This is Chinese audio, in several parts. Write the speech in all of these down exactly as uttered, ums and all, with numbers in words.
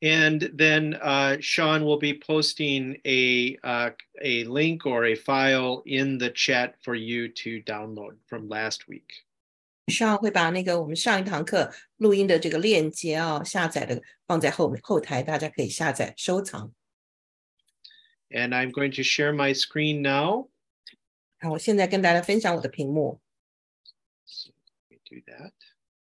And then uh, Sean will be posting a uh, a link or a file in the chat for you to download from last week. 上会把那个我们上一堂课录音的这个链接啊，下载的放在后后台，大家可以下载收藏。 And I'm going to share my screen now. 好，我现在跟大家分享我的屏幕。 So let me do that.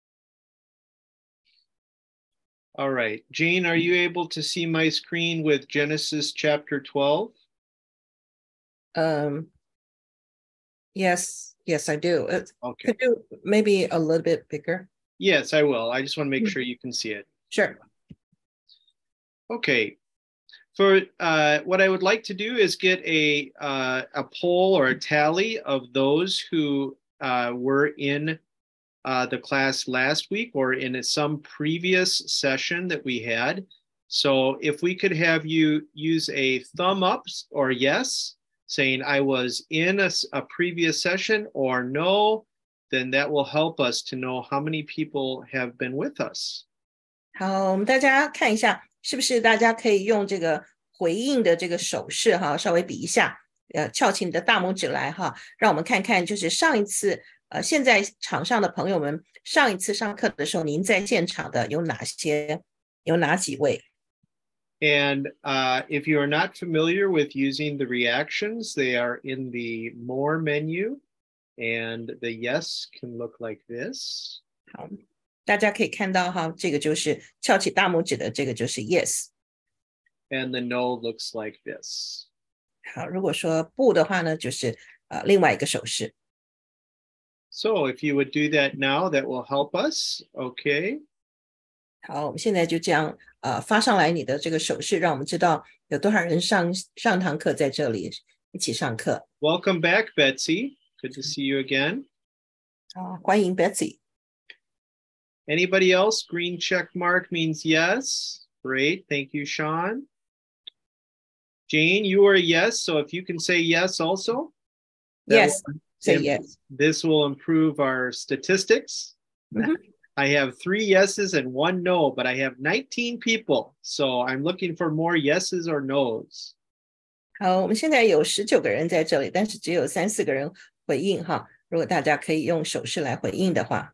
All right, Jane, are you able to see my screen with Genesis chapter twelve? Um, yes, yes, I do. Uh, Okay. Could you maybe a little bit bigger? Yes, I will. I just want to make sure you can see it. Sure. Okay. For uh, what I would like to do is get a uh, a poll or a tally of those who uh, were in uh, the class last week or in some previous session that we had. So if we could have you use a thumb up or yes, saying I was in a, a previous session or no, then that will help us to know how many people have been with us. 好，我们大家看一下，是不是大家可以用这个回应的这个手势哈，稍微比一下，呃，翘起你的大拇指来哈，让我们看看，就是上一次，呃，现在场上的朋友们，上一次上课的时候，您在现场的有哪些，有哪几位？ And uh, if you are not familiar with using the reactions, they are in the More menu, and the yes can look like this. 好，大家可以看到哈，这个就是翘起大拇指的，这个就是 yes。 And the no looks like this. 好，如果说不的话呢，就是呃另外一个手势。 So if you would do that now, that will help us. Okay. 好，我们现在就这样呃发上来你的这个手势，让我们知道有多少人上上堂课在这里一起上课。 Welcome back, Betsy. Good to see you again. 好，欢迎 Betsy。 Anybody else? Green check mark means yes. Great. Thank you, Sean. Jane, you are a yes. So if you can say yes also. Yes, will, say yes. This will improve our statistics. Mm-hmm. I have three yeses and one no, but I have nineteen people. So I'm looking for more yeses or nos. 好，我们现在有十九个人在这里，但是只有三四个人回应哈。如果大家可以用手势来回应的话。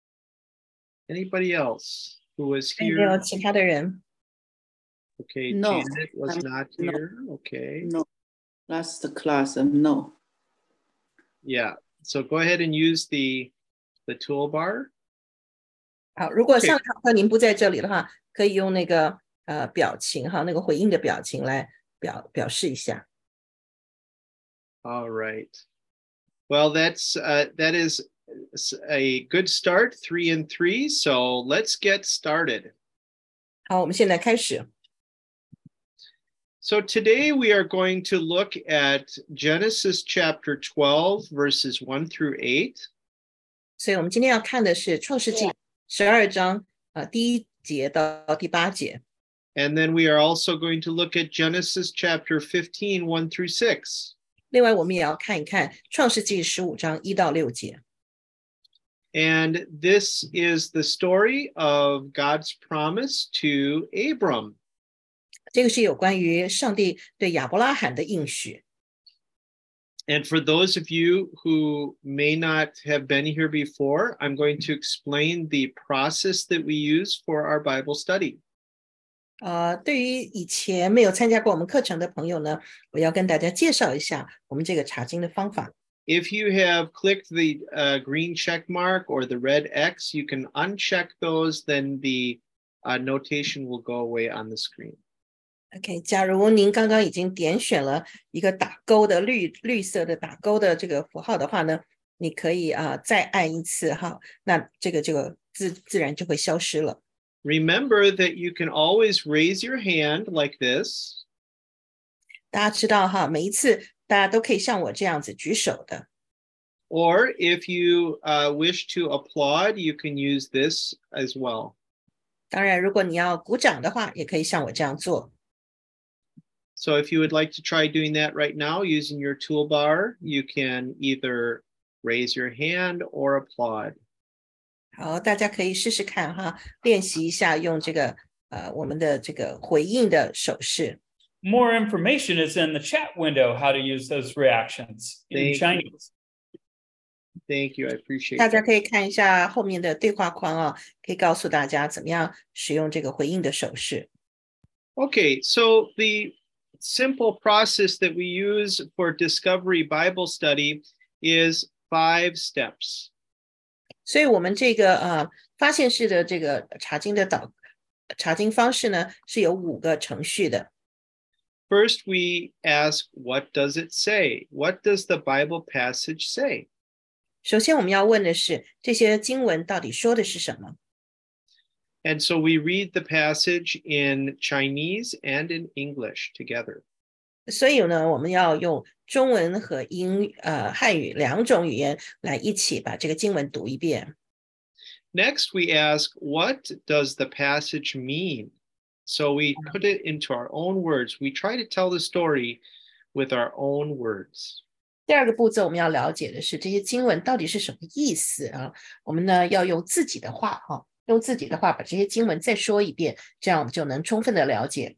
Anybody else who was 有没有 here? 其他的人？ Okay, No, Janet was I'm, not no, here. Okay. No, last class, um, no. Yeah, so go ahead and use the, the toolbar. 好，如果上堂课您不在这里的话，可以用那个呃表情哈，那个回应的表情来表表示一下。 All right. Well, that's uh, that is a good start, three and three. So let's get started. 好，我们现在开始。 So today we are going to look at Genesis chapter twelve, verses one through eight. 所以我们今天要看的是创世纪十二章呃第一节到第八节。 And then we are also going to look at Genesis chapter fifteen, one through six. 另外我们也要看一看创世纪十五章一到六节。 And this is the story of God's promise to Abram. 这个是有关于上帝对亚伯拉罕的应许。 And for those of you who may not have been here before, I'm going to explain the process that we use for our Bible study. 呃，对于以前没有参加过我们课程的朋友呢，我要跟大家介绍一下我们这个查经的方法。 If you have clicked the uh, green check mark or the red X, you can uncheck those, then the uh, notation will go away on the screen. OK， 假如您刚刚已经点选了一个打勾的绿绿色的打勾的这个符号的话呢，你可以啊、呃、再按一次哈，那这个这个自自然就会消失了。 Remember that you can always raise your hand like this. 大家知道哈，每一次大家都可以像我这样子举手的。 Or if you uh, wish to applaud, you can use this as well. 当然，如果你要鼓掌的话，也可以像我这样做。 So if you would like to try doing that right now using your toolbar, you can either raise your hand or applaud. 好，大家可以试试看哈，练习一下用这个呃我们的这个回应的手势。 More information is in the chat window how to use those reactions in Thank Chinese. Thank you. I appreciate 大家 that. 可以看一下后面的对话框啊，可以告诉大家怎么样使用这个回应的手势。 Okay, so the simple process that we use for Discovery Bible Study is five steps. 所以我们这个呃发现式的这个查经的导查经方式呢，是有五个程序的。 First, we ask, what does it say? What does the Bible passage say? 首先我们要问的是，这些经文到底说的是什么？ And so we read the passage in Chinese and in English together. 所以呢，我们要用中文和英呃汉语两种语言来一起把这个经文读一遍。 Next, we ask, what does the passage mean? So we put it into our own words. We try to tell the story with our own words. 第二个步骤我们要了解的是这些经文到底是什么意思啊？我们呢要用自己的话哈、啊，用自己的话把这些经文再说一遍，这样我们就能充分的了解。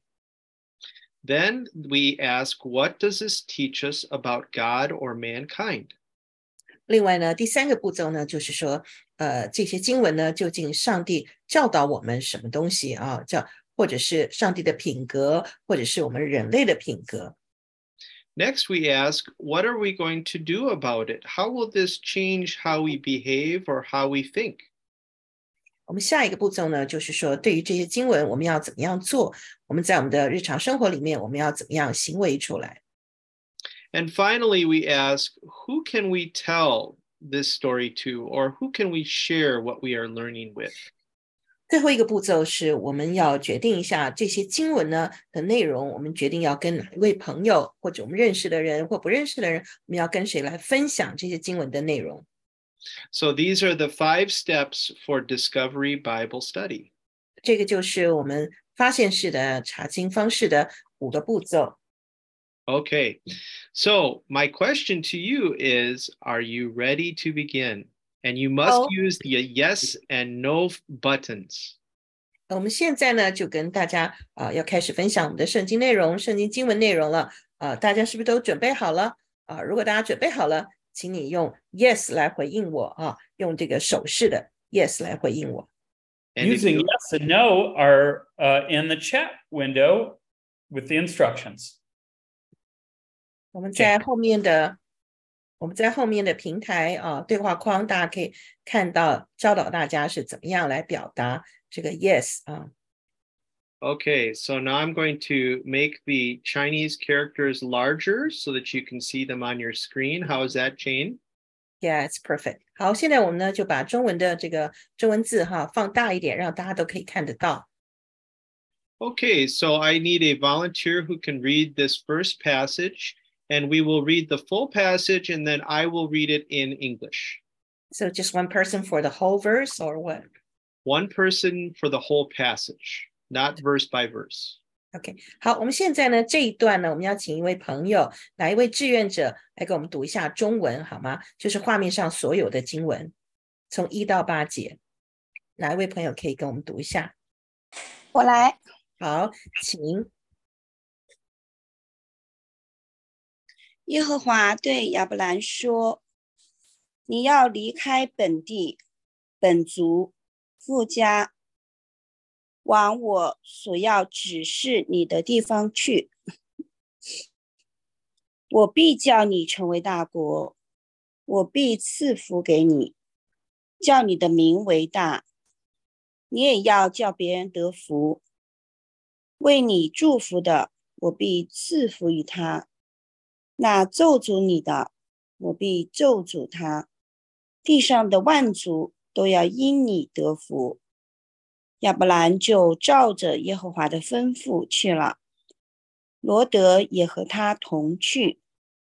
Then we ask, what does this teach us about God or mankind? 另外呢，第三个步骤呢，就是说，呃，这些经文呢，究竟上帝教导我们什么东西啊？叫或者是上帝的品格，或者是我们人类的品格。 Next, we ask, what are we going to do about it? How will this change how we behave or how we think? 我们下一个步骤呢，就是说，对于这些经文，我们要怎么样做？我们在我们的日常生活里面，我们要怎么样行为出来？ And finally, we ask, who can we tell this story to, or who can we share what we are learning with? 最后一个步骤是我们要决定一下这些经文呢的内容，我们决定要跟哪一位朋友，或者我们认识的人或不认识的人，我们要跟谁来分享这些经文的内容。 So these are the five steps for Discovery Bible Study. 这个就是我们发现式的查经方式的五个步骤。 Okay, so my question to you is, are you ready to begin? And you must Oh. use the yes and no buttons. 我们现在呢就跟大家啊、呃、要开始分享我们的圣经内容、圣经经文内容了啊、呃，大家是不是都准备好了啊、呃？如果大家准备好了，请你用 yes 来回应我啊，用这个手势的 yes 来回应我。 And if Using you- yes and no are uh, in the chat window with the instructions. 我们在后面的我们在后面的平台啊对话框，大家可以看到教导大家是怎么样来表达这个 yes 啊。 Okay, so now I'm going to make the Chinese characters larger so that you can see them on your screen. How is that, Jane? Yeah, it's perfect. 好，现在我们呢就把中文的这个中文字哈放大一点，让大家都可以看得到。 Okay, so I need a volunteer who can read this first passage, and we will read the full passage and then I will read it in English. So just one person for the whole verse or what? One person for the whole passage, not verse by verse. OK， 好，我们现在呢这一段呢，我们要请一位朋友，哪一位志愿者来给我们读一下中文好吗？就是画面上所有的经文，从一到八节，哪一位朋友可以跟我们读一下？ 我来。 好，请。 耶和华对亚伯兰说：“你要离开本地、本族、父家，往我所要指示你的地方去。我必叫你成为大国，我必赐福给你，叫你的名为大。你也要叫别人得福。为你祝福的，我必赐福于他。那咒诅你的，我必咒诅他。地上的万族都要因你得福。”亚伯兰就照着耶和华的吩咐去了，罗德也和他同去。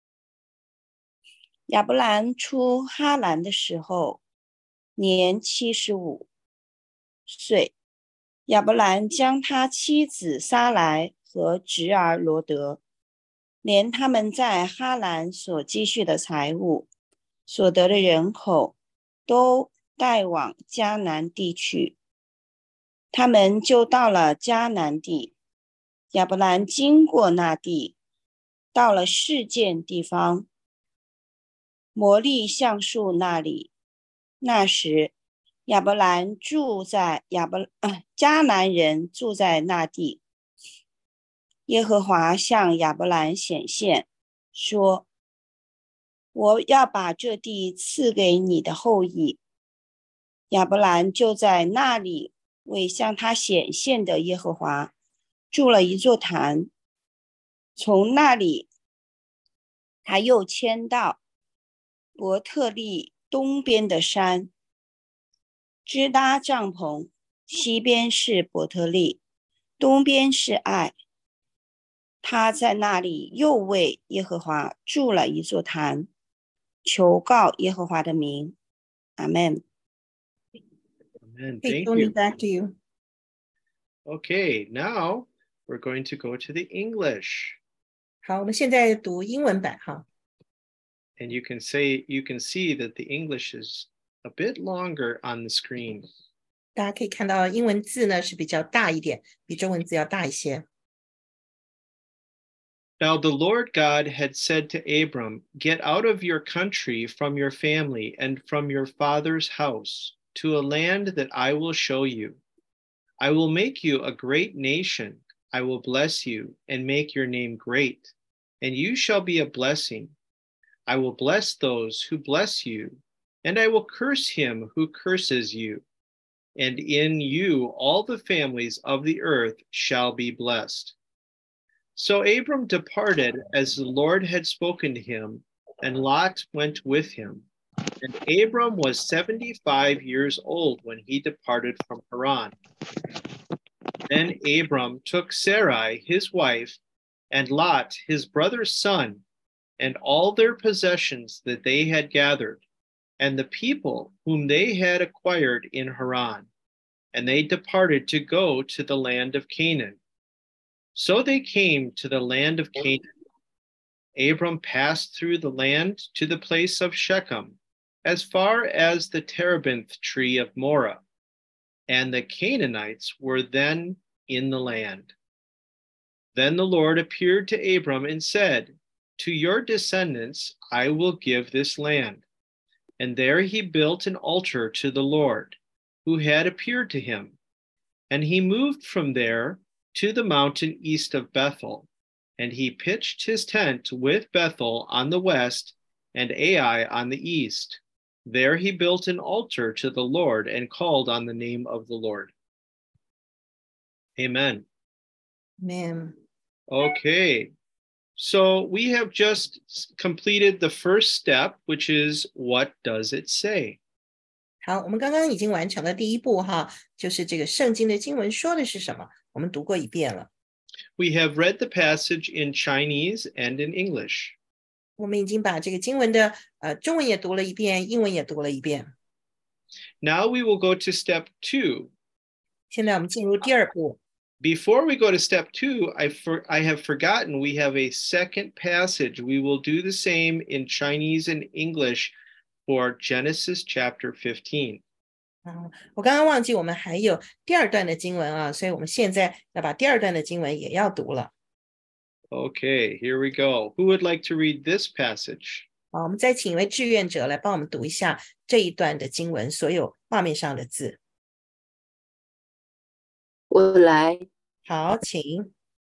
亚伯兰出哈兰的时候，年七十五岁。亚伯兰将他妻子撒来和侄儿罗德，连他们在哈兰所积蓄的财物、所得的人口，都带往迦南地去。 他们就到了迦南地。亚伯兰经过那地，到了示剑地方，摩利橡树那里。那时，亚伯兰住在亚伯、呃、迦南人住在那地。耶和华向亚伯兰显现，说：我要把这地赐给你的后裔。亚伯兰就在那里为向他显现的耶和华筑了一座坛。从那里，他又迁到伯特利东边的山，支搭帐篷，西边是伯特利，东边是爱。他在那里又为耶和华筑了一座坛，求告耶和华的名。阿们。 Amen. Hey, Thank Tony, you. back to you. Okay, now we're going to go to the English. 好，我们现在读英文版哈。 And you can say, you can see that the English is a bit longer on the screen. 大家可以看到英文字呢是比较大一点，比中文字要大一些。 Now the Lord God had said to Abram, get out of your country, from your family, and from your father's house, to a land that I will show you. I will make you a great nation. I will bless you and make your name great, and you shall be a blessing. I will bless those who bless you, and I will curse him who curses you. And in you all the families of the earth shall be blessed. So Abram departed as the Lord had spoken to him, and Lot went with him. And Abram was seventy-five years old when he departed from Haran. Then Abram took Sarai, his wife, and Lot, his brother's son, and all their possessions that they had gathered, and the people whom they had acquired in Haran, and they departed to go to the land of Canaan. So they came to the land of Canaan. Abram passed through the land to the place of Shechem, as far as the terebinth tree of Moreh, and the Canaanites were then in the land. Then the Lord appeared to Abram and said, to your descendants I will give this land. And there he built an altar to the Lord, who had appeared to him. And he moved from there to the mountain east of Bethel, and he pitched his tent with Bethel on the west and Ai on the east. There he built an altar to the Lord and called on the name of the Lord. Amen. Amen. Okay, so we have just completed the first step, which is what does it say? 好，我们刚刚已经完成了第一步哈，就是这个圣经的经文说的是什么，我们读过一遍了。 We have read the passage in Chinese and in English. 我们已经把这个经文的呃中文也读了一遍，英文也读了一遍。 Now we will go to step two. 现在我们进入第二步。 Before we go to step two, I, for, I have forgotten we have a second passage. We will do the same in Chinese and English for Genesis chapter fifteen. 嗯，我刚刚忘记我们还有第二段的经文啊，所以我们现在要把第二段的经文也要读了。 Okay, here we go. Who would like to read this passage? 好，我们再请一位志愿者来帮我们读一下这一段的经文，所有画面上的字。 我来。 好，请。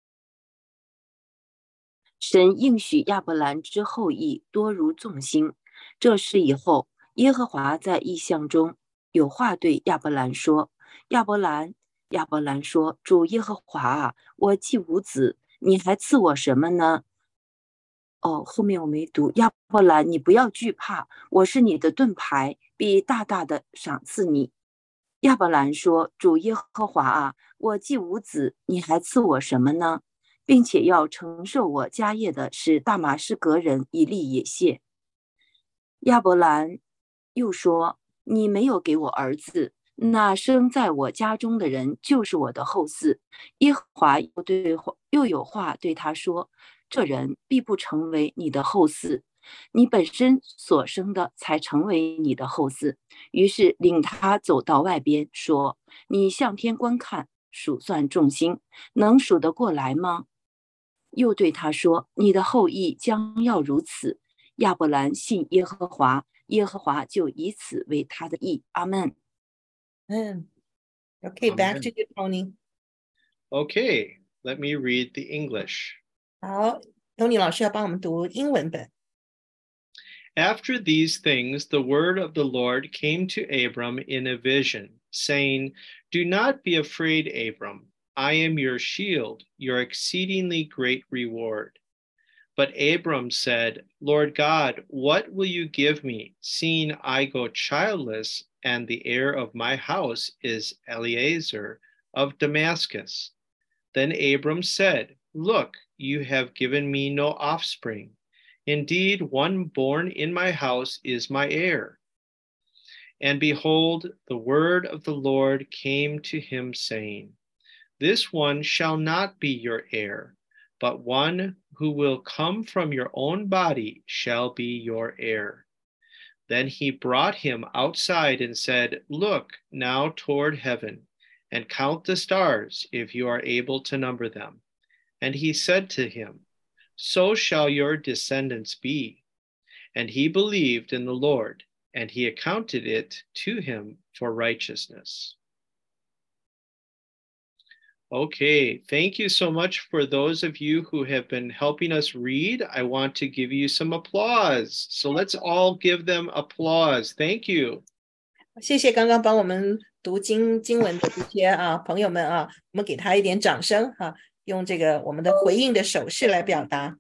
神应许亚伯兰之后裔多如众星。这事以后，耶和华在异象中有话对亚伯兰说：亚伯兰，亚伯兰说，主耶和华啊，我既无子，你还赐我什么呢？哦，后面我没读。亚伯兰，你不要惧怕，我是你的盾牌，必大大的赏赐你。亚伯兰说：主耶和华啊，我既无子，你还赐我什么呢？并且要承受我家业的是大马士革人以利也谢。亚伯兰又说：你没有给我儿子，那生在我家中的人就是我的后嗣。耶和华又对又有话对他说：这人必不成为你的后嗣， 你本身所生的才成为你的后嗣。于是领他走到外边，说：你向天观看，数算众星，能数得过来吗？又对他说：你的后裔将要如此。亚伯兰信耶和华，耶和华就以此为他的义。阿们。 嗯 Okay, back to you, Tony. Okay, let me read the English. 好，Tony 老师要帮我们读英文本。 After these things, the word of the Lord came to Abram in a vision, saying, Do not be afraid, Abram. I am your shield, your exceedingly great reward. But Abram said, Lord God, what will you give me, seeing I go childless, and the heir of my house is Eliezer of Damascus? Then Abram said, Look, you have given me no offspring. Indeed, one born in my house is my heir. And behold, the word of the Lord came to him, saying, This one shall not be your heir, but one who will come from your own body shall be your heir. Then he brought him outside and said, Look now toward heaven, and count the stars, if you are able to number them. And he said to him, So shall your descendants be. And he believed in the Lord, and he accounted it to him for righteousness. Okay, thank you so much for those of you who have been helping us read. I want to give you some applause. So let's all give them applause. Thank you. 谢谢刚刚帮我们读经经文的这些啊朋友们啊，我们给他一点掌声哈、啊，用这个我们的回应的手势来表达。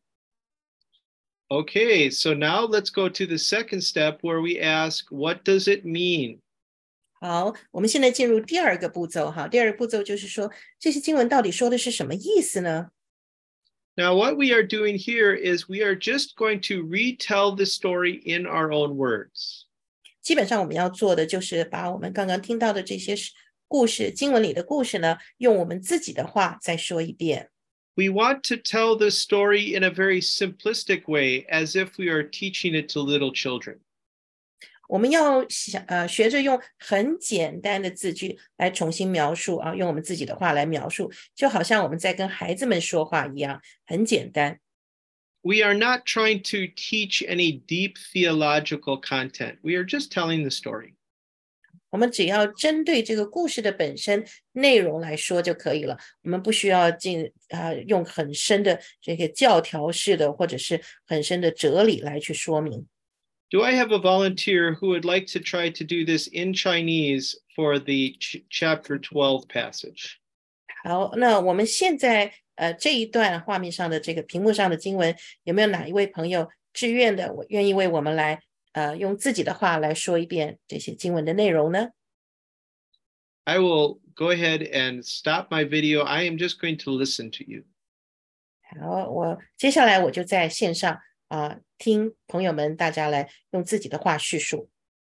Okay, so now let's go to the second step where we ask, what does it mean? 好，我们现在进入第二个步骤哈。第二个步骤就是说，这些经文到底说的是什么意思呢？ Now, what we are doing here is we are just going to retell the story in our own words. 基本上我们要做的就是把我们刚刚听到的这些故事，经文里的故事呢，用我们自己的话再说一遍。 We want to tell the story in a very simplistic way, as if we are teaching it to little children. 我们要想呃学着用很简单的字句来重新描述啊，用我们自己的话来描述，就好像我们在跟孩子们说话一样，很简单。 We are not trying to teach any deep theological content. We are just telling the story. 我们只要针对这个故事的本身内容来说就可以了，我们不需要进啊用很深的这个教条式的或者是很深的哲理来去说明。 Do I have a volunteer who would like to try to do this in Chinese for the ch- chapter twelve passage? 好，那我们现在呃这一段画面上的这个屏幕上的经文，有没有哪一位朋友志愿的，我愿意为我们来呃用自己的话来说一遍这些经文的内容呢？ I will go ahead and stop my video. I am just going to listen to you. 好，我接下来我就在线上啊、呃、听朋友们大家来用自己的话叙述。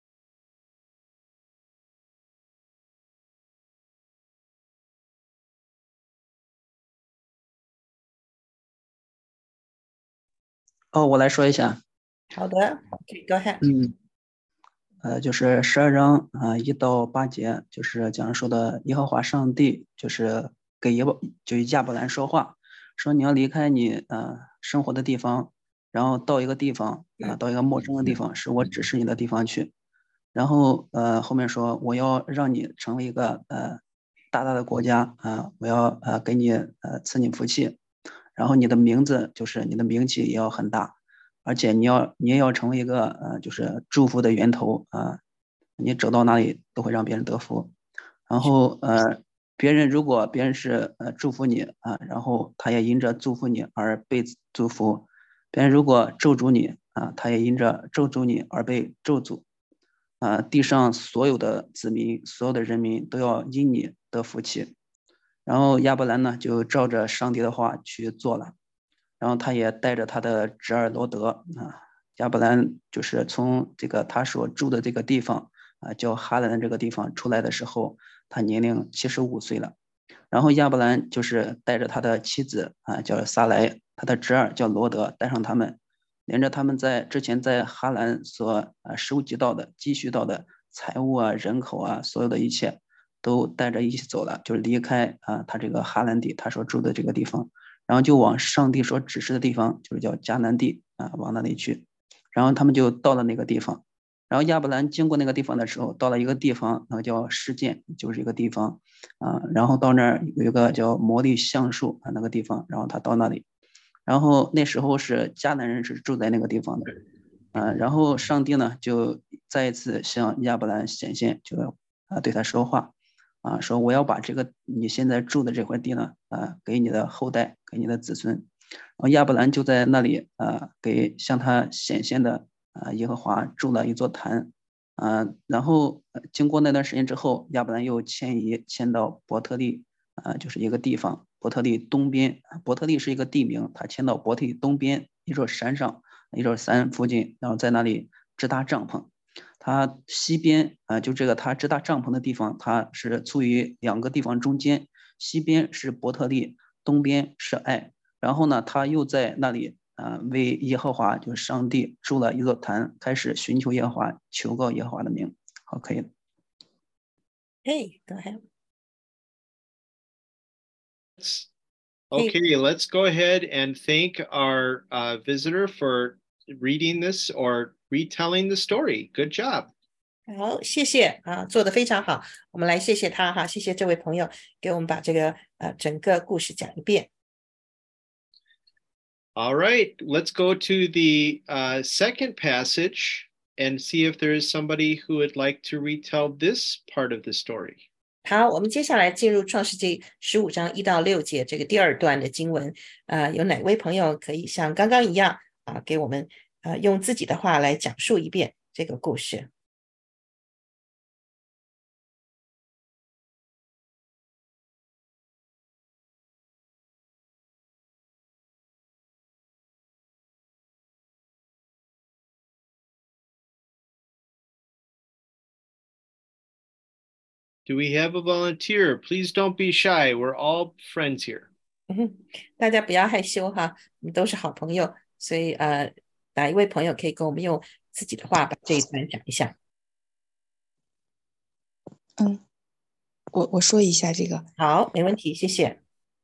哦，我来说一下。 好的 ，OK， go ahead。 嗯，呃，就是十二章啊、呃、一到八节，就是讲述的耶和华上帝就是给耶伯就亚伯兰说话，说你要离开你呃生活的地方，然后到一个地方啊、呃，到一个陌生的地方，是我指示你的地方去。然后呃后面说我要让你成为一个呃大大的国家啊、呃，我要呃给你呃赐你福气。然后你的名字就是你的名气也要很大，而且你要你也要成为一个呃就是祝福的源头啊、呃，你走到哪里都会让别人得福。然后呃别人如果别人是呃祝福你啊、呃，然后他也因着祝福你而被祝福；别人如果咒诅你啊、呃，他也因着咒诅你而被咒诅。啊、呃，地上所有的子民，所有的人民都要因你得福气。然后亚伯兰呢，就照着上帝的话去做了，然后他也带着他的侄儿罗德啊，亚伯兰就是从这个他所住的这个地方啊，叫哈兰的这个地方出来的时候，他年龄七十五岁了。然后亚伯兰就是带着他的妻子啊，叫撒莱，他的侄儿叫罗德，带上他们连着他们在之前在哈兰所啊收集到的、积蓄到的财物啊、人口啊，所有的一切都带着一起走了，就是离开啊他这个哈兰地，他所住的这个地方，然后就往上帝所指示的地方，就是叫迦南地啊，往那里去。然后他们就到了那个地方。然后亚伯兰经过那个地方的时候，到了一个地方，那个叫示剑，就是一个地方啊。然后到那儿有一个叫摩利橡树啊，那个地方，然后他到那里，然后那时候是迦南人是住在那个地方的，啊。然后上帝呢就再一次向亚伯兰显现，就啊对他说话，啊说我要把这个你现在住的这块地呢，啊给你的后代，给你的子孙。然后亚伯兰就在那里啊给向他显现的。啊，耶和华筑了一座坛，啊，然后经过那段时间之后，亚伯兰又迁移迁到伯特利，啊，就是一个地方，伯特利东边，伯特利是一个地名，他迁到伯特利东边一座山上，一座山附近，然后在那里支搭帐篷。他西边啊，就这个他支搭帐篷的地方，他是处于两个地方中间，西边是伯特利，东边是爱，然后呢，他又在那里。啊，为耶和华就是上帝筑了一座坛，开始寻求耶和华，求告耶和华的名。好，可以了。 Hey, go ahead. Okay, let's go ahead and thank our uh, visitor for reading this or retelling the story. Good job. 好，谢谢啊，做得非常好。我们来谢谢他哈，谢谢这位朋友给我们把这个呃整个故事讲一遍。 All right, let's go to the uh, second passage and see if there is somebody who would like to retell this part of the story. 好，我们接下来进入创世纪十五章一到六节这个第二段的经文。呃，有哪位朋友可以像刚刚一样啊，给我们呃用自己的话来讲述一遍这个故事 ？Do we have a volunteer? Please don't be shy. We're all friends here. 嗯，大家不要害羞哈，我们都是好朋友，所以呃，哪一位朋友可以跟我们用自己的话把这一段讲一下？ 嗯，我我说一下这个。 好，没问题，谢谢。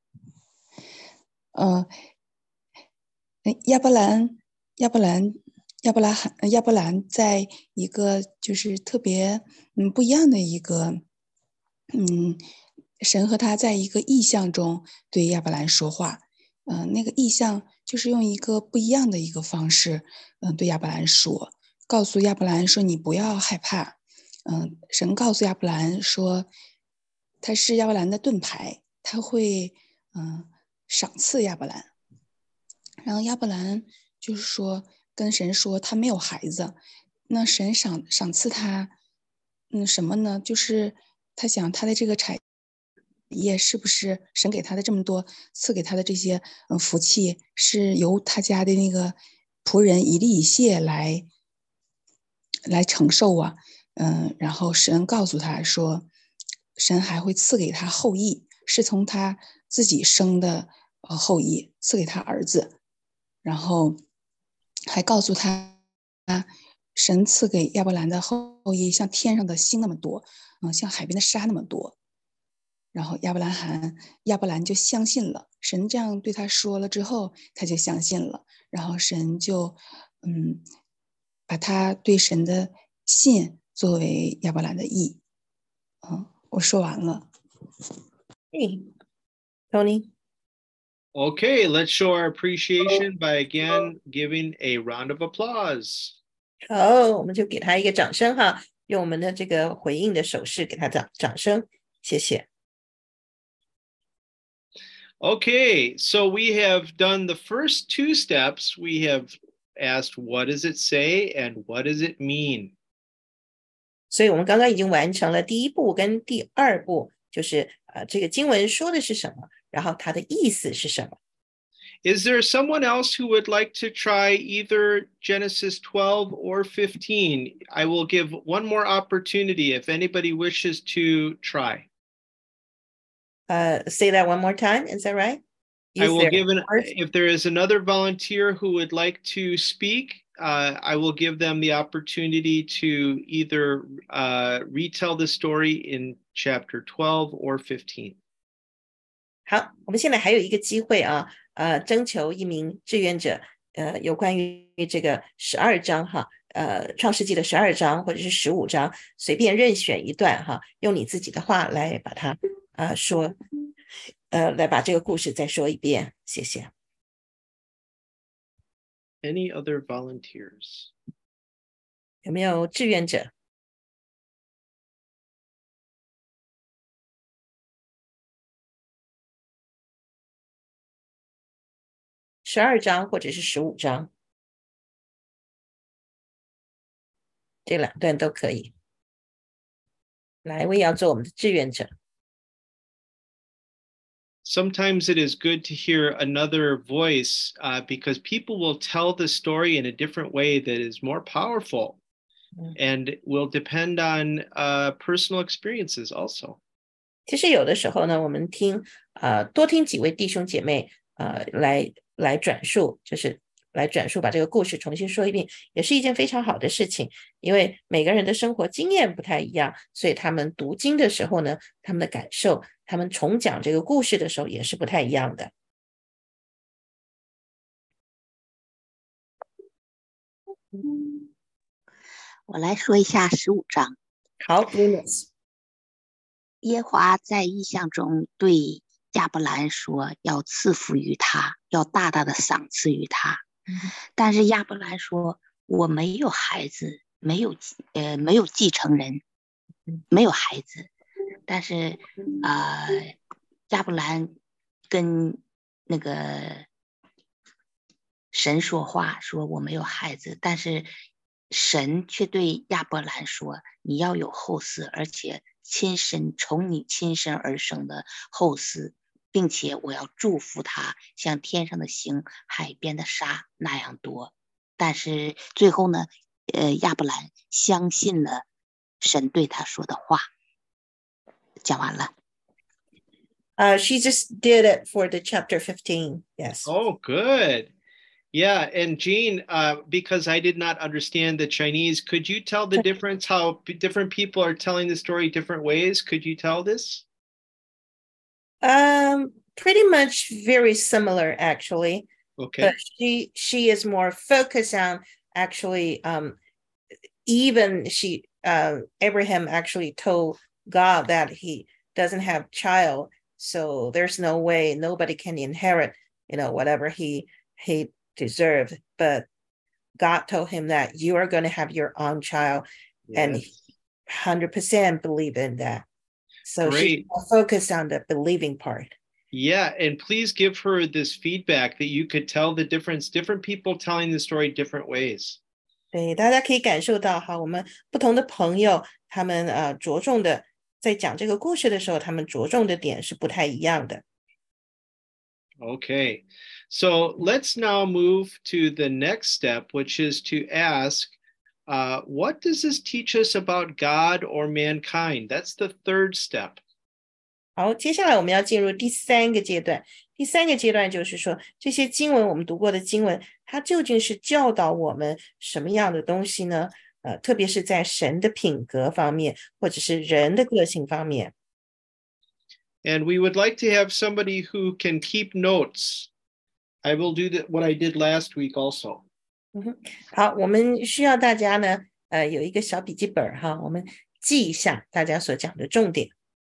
嗯、呃，亚伯兰，亚伯兰，亚伯拉罕，亚伯兰在一个就是特别嗯不一样的一个嗯。神和他在一个意象中对亚伯兰说话，嗯、呃，那个意象就是用一个不一样的一个方式，嗯、呃，对亚伯兰说，告诉亚伯兰说你不要害怕，嗯、呃，神告诉亚伯兰说，他是亚伯兰的盾牌，他会嗯、呃、赏赐亚伯兰，然后亚伯兰就是说跟神说他没有孩子，那神赏赏赐他，嗯什么呢？就是他想他的这个产业是不是神给他的这么多赐给他的这些嗯福气是由他家的那个仆人以利以谢来来承受啊？嗯，然后神告诉他说，神还会赐给他后裔，是从他自己生的呃后裔赐给他儿子，然后还告诉他，神赐给亚伯兰的后裔像天上的星那么多，嗯，像海边的沙那么多。然后亚伯兰罕亚伯兰就相信了，神这样对他说了之后，他就相信了。然后神就嗯，把他对神的信作为亚伯兰的义。嗯，我说完了。 嘿 ，Tony。 Okay, let's show our appreciation by again giving a round of applause. 好，我们就给他一个掌声哈，用我们的这个回应的手势给他掌掌声，谢谢。 Okay, so we have done the first two steps. We have asked, what does it say and what does it mean? 所以我们刚刚已经完成了第一步跟第二步，就是呃，这个经文说的是什么，然后它的意思是什么。 Is there someone else who would like to try either Genesis twelve or fifteen? I will give one more opportunity if anybody wishes to try. Uh, say that one more time. Is that right? I will give an, if there is another volunteer who would like to speak, uh, I will give them the opportunity to either uh, retell the story in chapter twelve or fifteen. 好，我们现在还有一个机会啊，呃，征求一名志愿者，呃，有关于这个十二章哈，呃，创世纪的十二章或者是十五章，随便任选一段哈，用你自己的话来把它呃说，呃，来把这个故事再说一遍，谢谢。 Any other volunteers? 有没有志愿者？十二章或者是十五章，这两段都可以。来，我也要做我们的志愿者。 Sometimes it is good to hear another voice uh, because people will tell the story in a different way that is more powerful and will depend on uh, personal experiences also. 其实有的时候呢，我们听呃多听几位弟兄姐妹呃来来转述，就是来转述把这个故事重新说一遍，也是一件非常好的事情。因为每个人的生活经验不太一样，所以他们读经的时候呢，他们的感受，他们重讲这个故事的时候也是不太一样的。 我来说一下十五章。 好 ，Bruce。 耶和华在异象中对亚伯兰说，要赐福于他，要大大的赏赐于他。嗯、但是亚伯兰说，我没有孩子，没有呃没有继承人，没有孩子。但是呃亚伯兰跟那个神说话，说我没有孩子，但是神却对亚伯兰说，你要有后嗣，而且亲生从你亲生而生的后嗣，并且我要祝福他，像天上的星、海边的沙那样多。但是最后呢，呃，亚伯兰相信了神对他说的话。讲完了。 Uh, she just did it for the chapter fifteen. Yes. Oh, good. Yeah, and Jean, uh, because I did not understand the Chinese, could you tell the difference how different people are telling the story different ways? Could you tell this? Um, pretty much very similar, actually. Okay. But she she is more focused on actually. Um, even she uh, Abraham actually told God that he doesn't have child, so there's no way nobody can inherit, you know, whatever he he. deserved, but God told him that you are going to have your own child, yes. And he one hundred percent believe in that. So she's focused on the believing part. Yeah, and please give her this feedback that you could tell the difference, different people telling the story different ways. 对，大家可以感受到哈，我们不同的朋友，他们呃着重的在讲这个故事的时候，他们着重的点是不太一样的。 Okay, so let's now move to the next step, which is to ask, uh, what does this teach us about God or mankind? That's the third step. 好，接下来我们要进入第三个阶段。第三个阶段就是说，这些经文我们读过的经文，它究竟是教导我们什么样的东西呢？呃，特别是在神的品格方面，或者是人的个性方面。 And we would like to have somebody who can keep notes. I will do the, what I did last week also. 嗯哼，好，我们需要大家呢，呃，有一个小笔记本哈，我们记一下大家所讲的重点。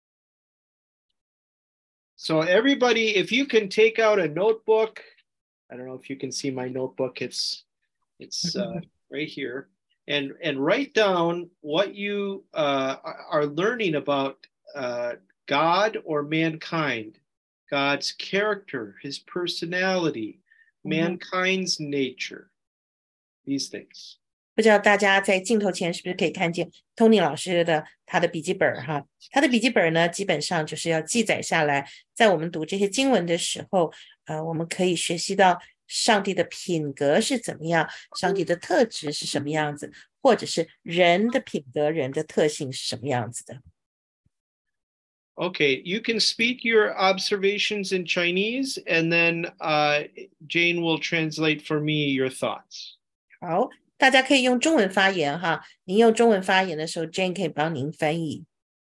So everybody, if you can take out a notebook, I don't know if you can see my notebook. It's it's uh, right here, and and write down what you uh, are learning about. Uh, God or mankind, God's character, his personality, mm-hmm. mankind's nature, these things. 不知道大家在镜头前是不是可以看见 Tony 老师的他的笔记本哈？他的笔记本呢，基本上就是要记载下来，在我们读这些经文的时候，呃，我们可以学习到上帝的品格是怎么样，上帝的特质是什么样子，或者是人的品格、人的特性是什么样子的。 Okay, you can speak your observations in Chinese, and then uh, Jane will translate for me your thoughts. 好，大家可以用中文发言哈。您用中文发言的时候 ，Jane 可以帮您翻译。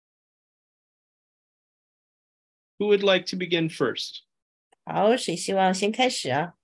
Who would like to begin first? 好，谁希望先开始啊？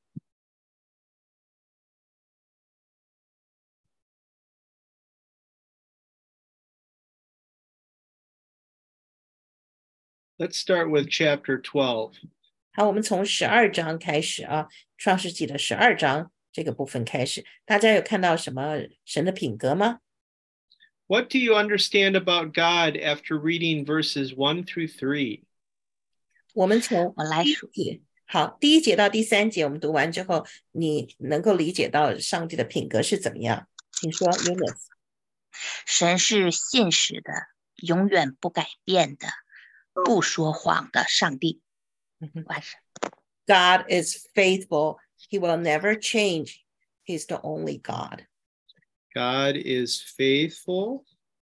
Let's start with chapter twelve. 好，我们从十二章开始啊，创世纪的十二章这个部分开始。大家有看到什么神的品格吗？ What do you understand about God after reading verses one through three? 我们从我来说， 好，第一节到第三节我们读完之后，你能够理解到上帝的品格是怎么样？请说 ，Eunice。 神是信实的，永远不改变的，不说谎的上帝。完事。 God is faithful. He will never change. He's the only God. God is faithful.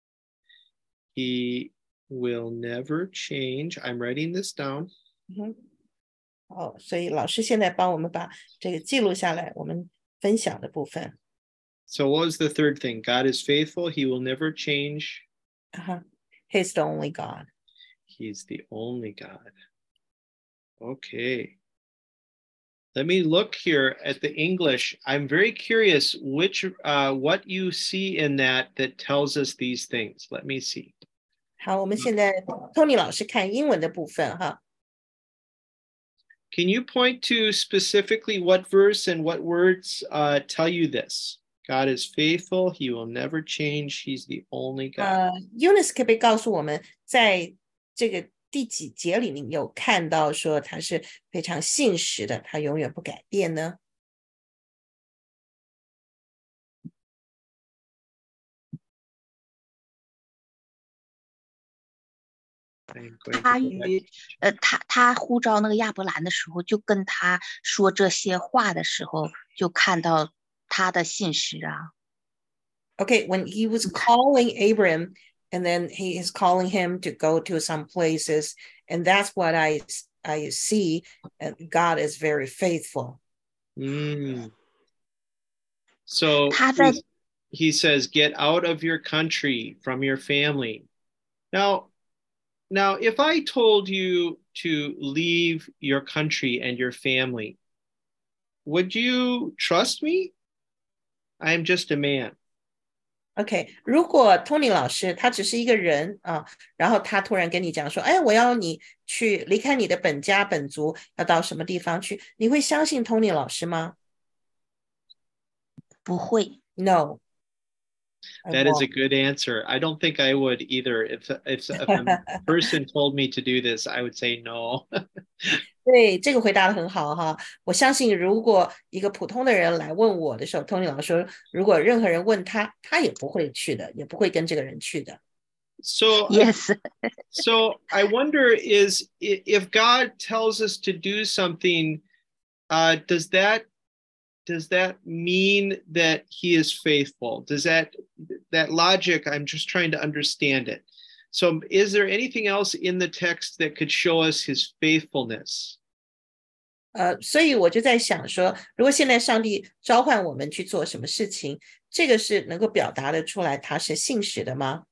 He will never change. I'm writing this down. 嗯，好，所以老师现在帮我们把这个记录下来，我们分享的部分。 So what was the third thing? God is faithful. He will never change. Uh-huh. He's the only God. He's the only God. Okay. Let me look here at the English. I'm very curious which uh, what you see in that that tells us these things. Let me see. 好，我们现在 Tony 老师看英文的部分哈。 Can you point to specifically what verse and what words uh, tell you this? God is faithful. He will never change. He's the only God. 呃 ，Eunice 可不可以告诉我们，在这个第几节里面有看到说他是非常信实的，他永远不改变呢？ 他与呃，他他呼召那个亚伯兰的时候，就跟他说这些话的时候，就看到他的信实啊。 Okay, when he was calling Abram, and then he is calling him to go to some places, and that's what I I see. And God is very faithful. Mm. So 他在 he's- he says, "Get out of your country, from your family." Now, now, if I told you to leave your country and your family, would you trust me? I'm just a man. OK， 如果 Tony 老师他只是一个人啊，然后他突然跟你讲说，哎，我要你去离开你的本家本族，要到什么地方去，你会相信 Tony 老师吗？ 不会。 No. That is a good answer. I don't think I would either. If if, if a person told me to do this, I would say no. 对，这个回答的很好哈。我相信，如果一个普通的人来问我的时候 ，Tony 老师说，如果任何人问他，他也不会去的，也不会跟这个人去的。 So Yes. So I wonder is if God tells us to do something, uh, does that does that mean that He is faithful? Does that that logic? I'm just trying to understand it. So, is there anything else in the text that could show us His faithfulness? 呃，所以我就在想说，如果现在上帝召唤我们去做什么事情，这个是能够表达得出来他是信实的吗？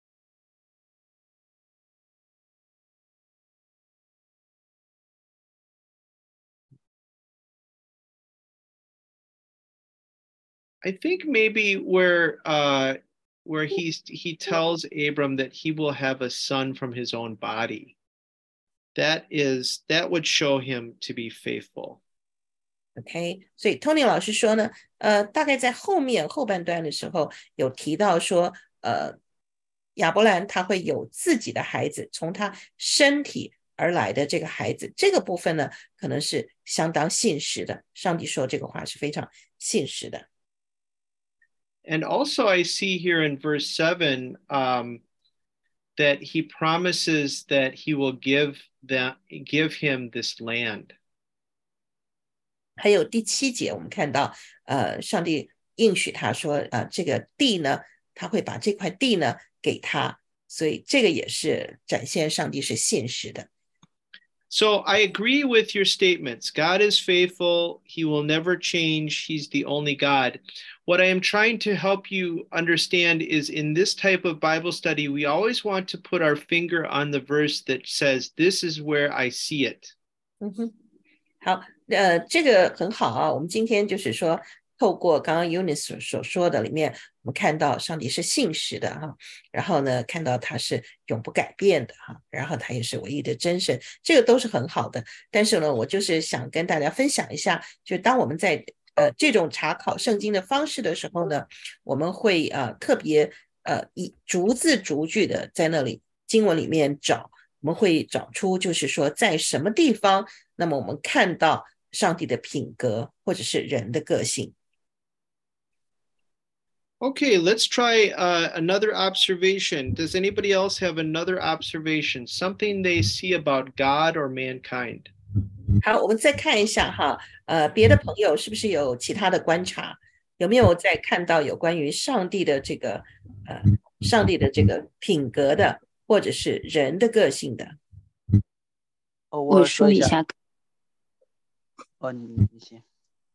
I think maybe where uh, where he he tells Abram that he will have a son from his own body. That is that would show him to be faithful. OK， 所以 Tony 老师说呢，呃，大概在后面后半段的时候有提到说，呃，亚伯兰他会有自己的孩子，从他身体而来的这个孩子，这个部分呢，可能是相当信实的。上帝说这个话是非常信实的。 And also, I see here in verse seven um, that he promises that he will give that give him this land. 还有第七节，我们看到，呃，上帝应许他说，呃，这个地呢，他会把这块地呢给他， 所以这个也是展现上帝是信实的。 So I agree with your statements. God is faithful. He will never change. He's the only God. What I am trying to help you understand is in this type of Bible study, we always want to put our finger on the verse that says, this is where I see it. 嗯哼，好，呃，这个很好啊。我们今天就是说，透过刚刚 Eunice 所说的里面，我们看到上帝是信实的哈，然后呢，看到他是永不改变的哈，然后他也是唯一的真神，这个都是很好的。但是呢，我就是想跟大家分享一下，就当我们在呃这种查考圣经的方式的时候呢，我们会呃特别呃以逐字逐句的在那里经文里面找。我们会找出就是说在什么地方，那么我们看到上帝的品格或者是人的个性。 Okay, let's try uh, another observation. Does anybody else have another observation? Something they see about God or mankind? 好，我们再看一下哈，呃，别的朋友是不是有其他的观察？有没有再看到有关于上帝的这个呃，上帝的这个品格的？或者是人的个性的。 哦， 我说一下。 哦，你你先。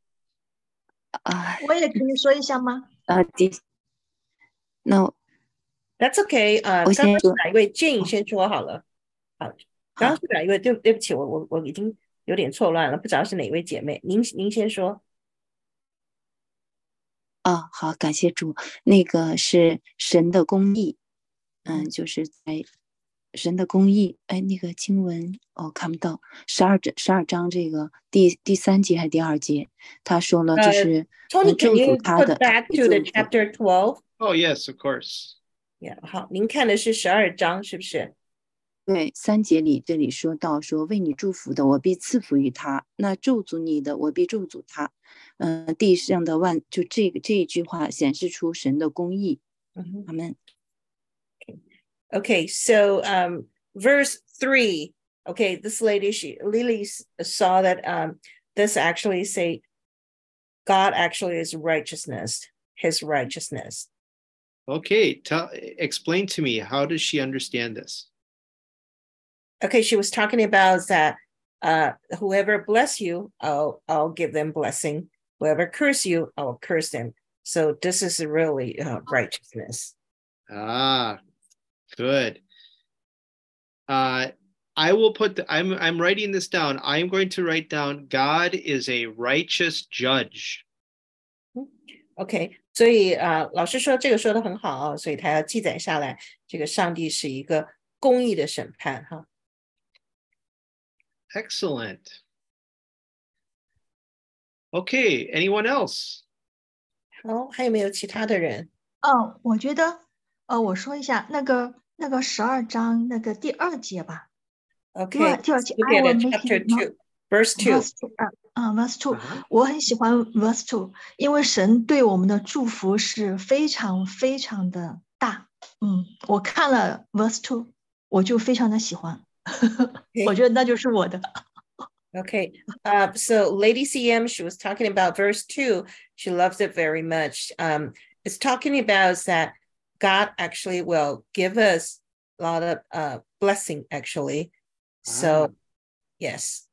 啊， 我也可以说一下吗？ 啊，第，那 That's okay 啊、 呃， 刚刚是哪一位 Jane 先说好了。好，刚刚是哪一位？对对不起，我我我已经有点错乱了，不知道是哪位姐妹。您您先说。 啊，好，感谢主。那个是神的公义。嗯，就是在神的公义，哎，那个经文哦看不到，十二章十二章这个第第三节还是第二节，他说了就是、 uh, Tony, 祝福他的。 Can you put back to the chapter twelve? Oh yes, of course. Yeah, 好，您看的是十二章是不是？ 对，三节里这里说到说为你祝福的，我必赐福于他；那咒诅你的，我必咒诅他。嗯、呃，地上的万就这个这一句话显示出神的公义。 嗯、 阿门。 Okay, so um, verse three. Okay, this lady, she Lily saw that um, this actually say God actually is righteousness, His righteousness. Okay, tell explain to me, how does she understand this? Okay, she was talking about that uh, whoever bless you, I'll I'll give them blessing. Whoever curse you, I'll curse them. So this is really uh, righteousness. Ah. Good. Uh, I will put the, I'm I'm writing this down. I'm going to write down God is a righteous judge. OK， 所以啊、呃，老师说这个说的很好啊，所以他要记载下来，这个上帝是一个公义的审判哈。 Excellent. Okay, anyone else? 好，还有没有其他的人？ 哦，我觉得。呃，我说一下那个那个十二章那个第二节吧。 Okay, 第二节 I will make chapter two, verse two. Verse two 啊、uh, ，verse two，、uh-huh. 我很喜欢 verse two， 因为神对我们的祝福是非常非常的大。嗯，我看了 verse two， 我就非常的喜欢，我觉得那就是我的。 Okay, uh, so Lady C M, she was talking about verse two. She loves it very much. Um, it's talking about that. God actually will give us a lot of uh, blessing, actually. So, ah. Yes.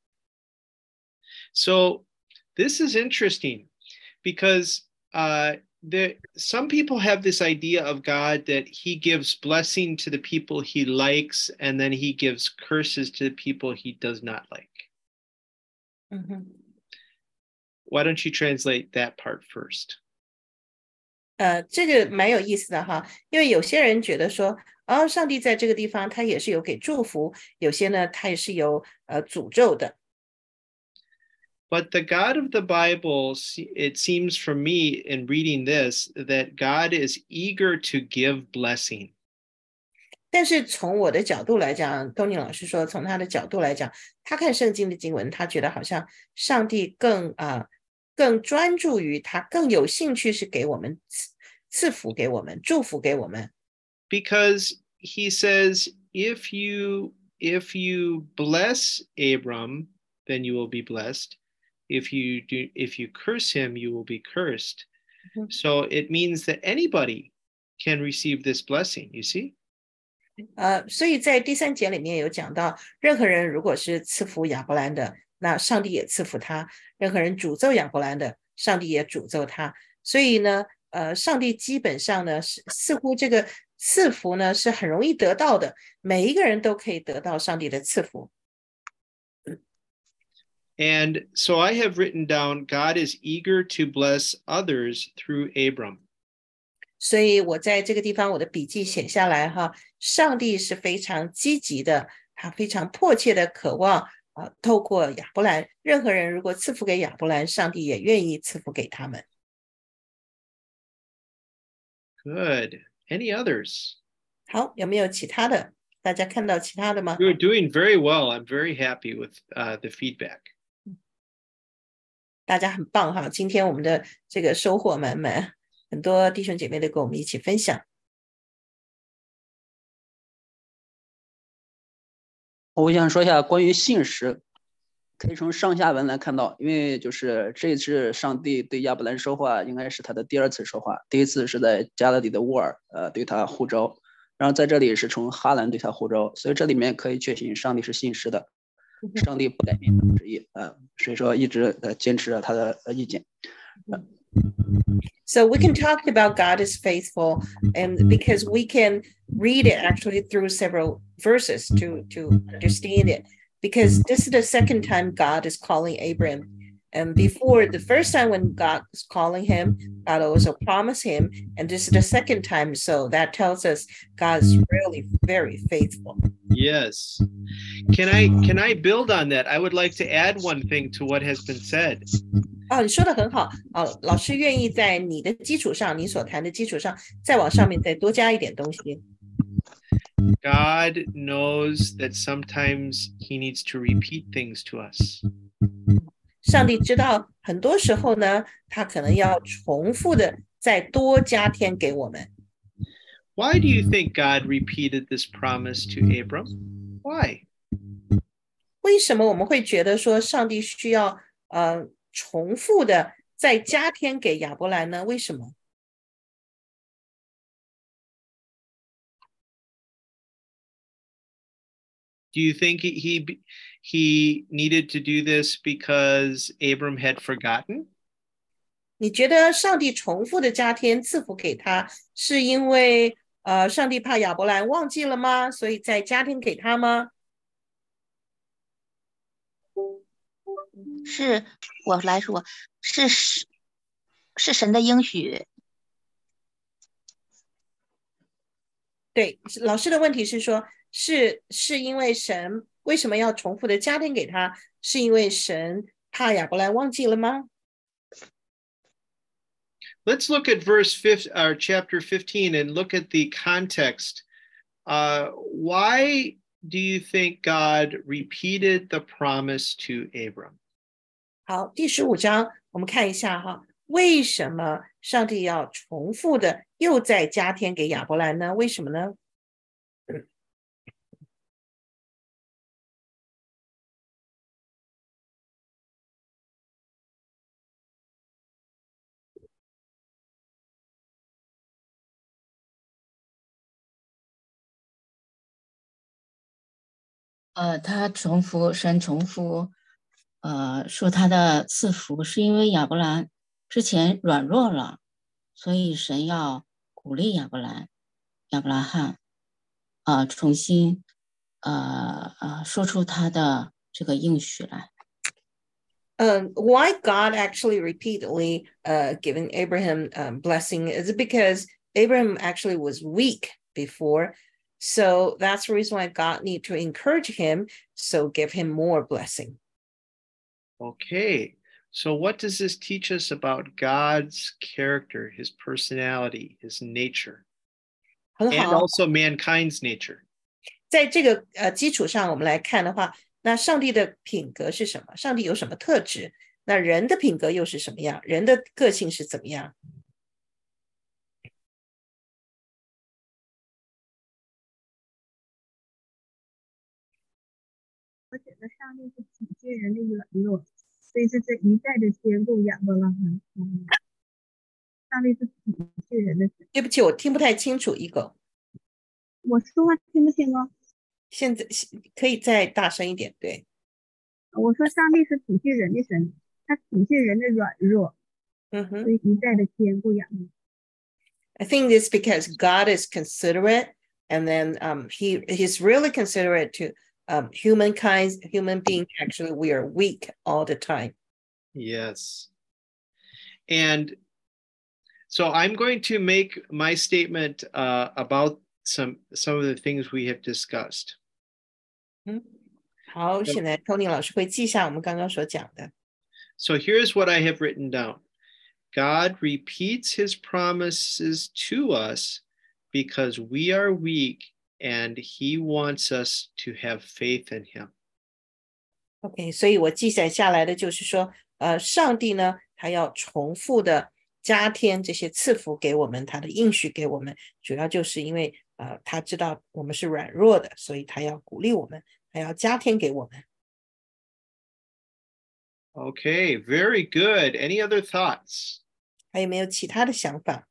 So this is interesting because uh, there, some people have this idea of God that he gives blessing to the people he likes, and then he gives curses to the people he does not like. Mm-hmm. Why don't you translate that part first? 呃，这个蛮有意思的哈，因为有些人觉得说，哦，上帝在这个地方他也是有给祝福，有些呢他也是有呃诅咒的。 But the God of the Bible, it seems from me in reading this, that God is eager to give blessing. 但是从我的角度来讲，Tony老师说，从他的角度来讲，他看圣经的经文，他觉得好像上帝更啊。呃更专注于他，更有兴趣是给我们赐福给我们，祝福给我们。 Because he says, if you if you bless Abram, then you will be blessed. If you do, if you curse him, you will be cursed. Mm-hmm. So it means that anybody can receive this blessing. You see? 呃，所以在第三节里面有讲到，任何人如果是赐福亚伯兰的，那上帝也赐福他；任何人诅咒亚伯兰的，上帝也诅咒他。所以呢，呃，上帝基本上呢是似乎这个赐福呢是很容易得到的，每一个人都可以得到上帝的赐福。 And so I have written down, God is eager to bless others through Abram. 所以我在这个地方我的笔记写下来哈，上帝是非常积极的，他非常迫切的渴望啊、呃，透过亚伯兰，任何人如果赐福给亚伯兰，上帝也愿意赐福给他们。 Good. Any others? 好，有没有其他的？大家看到其他的吗？ You're doing very well. I'm very happy with uh, the feedback. 大家很棒哈，今天我们的这个收获满满，很多弟兄姐妹都跟我们一起分享。 我想说一下关于信实，可以从上下文来看到，因为就是这次上帝对亚伯兰说话，应该是他的第二次说话，第一次是在加勒底的乌尔，呃，对他呼召，然后在这里是从哈兰对他呼召，所以这里面可以确信上帝是信实的，上帝不改变他的旨意，呃，所以说一直呃坚持他的意见。 So we can talk about God is faithful, and because we can read it actually through several verses to, to understand it, because this is the second time God is calling Abram. And before, the first time when God was calling him, God also promised him, and this is the second time, so that tells us God is really very faithful. Yes. Can I can I build on that? I would like to add one thing to what has been said. 哦，你说的很好。哦，老师愿意在你的基础上，你所谈的基础上，再往上面再多加一点东西。 God knows that sometimes he needs to repeat things to us. 上帝知道很多时候呢，他可能要重复的再多加添给我们。 Why do you think God repeated this promise to Abram? Why? 为什么我们会觉得说上帝需要呃重复的再加添给亚伯兰呢？为什么？ Do you think he he needed to do this because Abram had forgotten? 你觉得上帝重复的加添赐福给他，是因为呃上帝怕亚伯兰忘记了吗？所以再加添给他吗？ 是我来说，是是神的应许。 对，老师的问题是说，是是因为神为什么要重复的加添给他？是因为神怕亚伯兰忘记了吗？ Let's look at verse fifth, or chapter fifteen, and look at the context. Uh, why do you think God repeated the promise to Abram? 好，第十五章我们看一下哈，为什么上帝要重复的又再加添给亚伯兰呢？为什么呢？ 呃，他重复神重复，呃，说他的赐福是因为亚伯兰之前软弱了，所以神要鼓励亚伯兰，亚伯拉罕，呃，重新，呃呃，说出他的这个应许来。 Um, why God actually repeatedly uh, giving Abraham um, blessing is it because Abraham actually was weak before. So that's the reason why God need to encourage him, so give him more blessing. Okay, so what does this teach us about God's character, his personality, his nature, and also mankind's nature? 在这个呃基础上，我们来看的话，那上帝的品格是什么？上帝有什么特质？那人的品格又是什么样？人的个性是怎么样？ 我觉得上帝是体恤人的软弱，所以这是一再的兼顾亚伯拉罕。上帝是体恤人的。 对不起，我听不太清楚，一狗。 我说话听不见吗？ 现在可以再大声一点，对。 我说上帝是体恤人的神，他体恤人的软弱， 嗯哼。 所以一再的兼顾养育。 I think it's because God is considerate, and then um, he he's really considerate to um, humankind, human being. Actually, we are weak all the time. Yes. And so I'm going to make my statement uh, about some some of the things we have discussed. 嗯，好，现在 Tony 老师会记下我们刚刚所讲的。 So here's what I have written down. God repeats his promises to us because we are weak and he wants us to have faith in him. OK， 所以我记载下来的就是说，呃，上帝呢，他要重复的加添这些赐福给我们，他的应许给我们，主要就是因为呃，他知道我们是软弱的，所以他要鼓励我们，他要加添给我们。 Okay, very good. Any other thoughts? 还有没有其他的想法？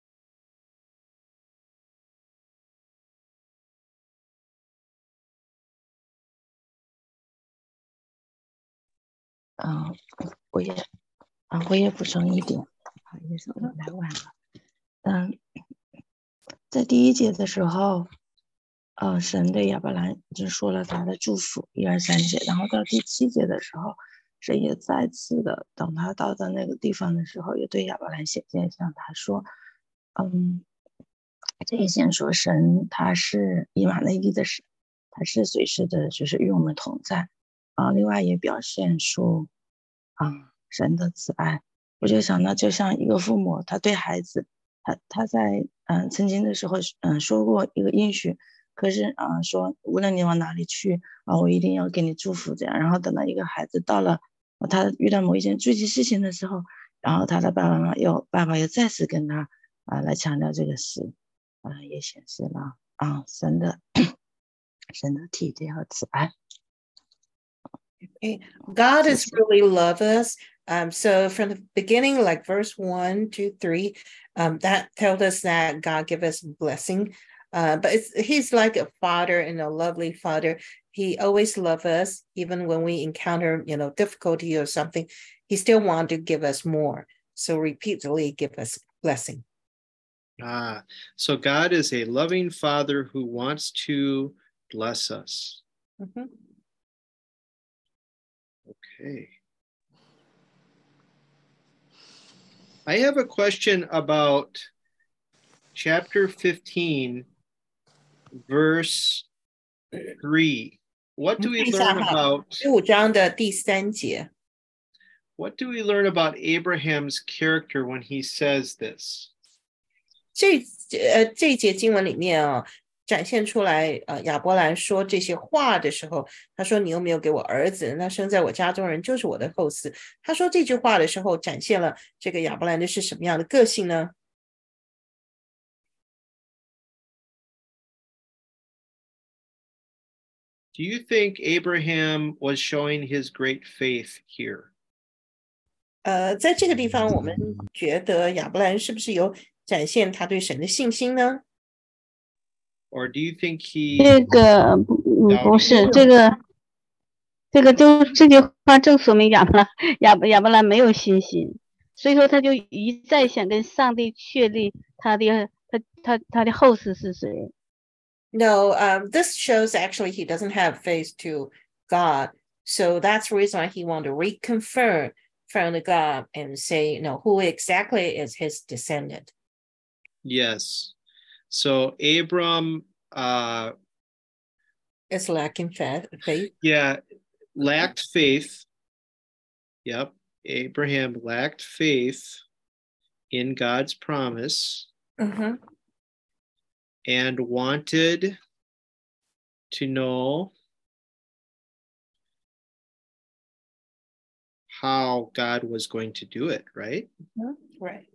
啊，我也啊，我也补充一点，不好意思，我来晚了。嗯，在第一节的时候，呃，神对亚伯兰已经说了他的祝福，一二三节，然后到第七节的时候，神也再次的，等他到的那个地方的时候，也对亚伯兰显现，向他说，嗯，这一先说神他是以马内利的神，他是随时的，就是与我们同在。啊，另外也表现出啊神的慈爱。我就想到，就像一个父母，他对孩子，他他在嗯曾经的时候嗯说过一个应许，可是啊说无论你往哪里去啊，我一定要给你祝福这样。然后等到一个孩子到了他遇到某一件具体事情的时候，然后他的爸爸妈妈又爸爸又再次跟他啊来强调这个事，啊也显示了啊神的神的体贴和慈爱。 Okay. God is really love us. Um, so from the beginning, like verse one, two, three, um, that tells us that God give us blessing. Uh, but it's, he's like a father and a lovely father. He always loves us, even when we encounter, you know, difficulty or something. He still wants to give us more. So repeatedly give us blessing. Ah, so God is a loving father who wants to bless us. Mm-hmm. Okay. I have a question about chapter fifteen, verse three. What do we learn about? 十五章的第三节。 What do we learn about Abraham's character when he says this? 这呃这一节经文里面啊，展现出来，呃，亚伯兰说这些话的时候，他说：“你又没有给我儿子，那生在我家中人就是我的后嗣。”他说这句话的时候，展现了这个亚伯兰的是什么样的个性呢？ Do you think Abraham was showing his great faith here? 呃，在这个地方，我们觉得亚伯兰是不是有展现他对神的信心呢？ Or do you think he 这个嗯不是这个，这个就这句话正说明亚伯兰亚伯亚伯兰没有信心，所以说他就一再想跟上帝确立他的他他他的后世是谁。 No, um, this shows actually he doesn't have faith to God, so that's the reason why he wanted to reconfirm from the God and say, you know, who exactly is his descendant. Yes. So Abram uh, is lacking faith. Yeah, lacked faith. Yep. Abraham lacked faith in God's promise. Mm-hmm. And wanted to know how God was going to do it, right? Mm-hmm. Right.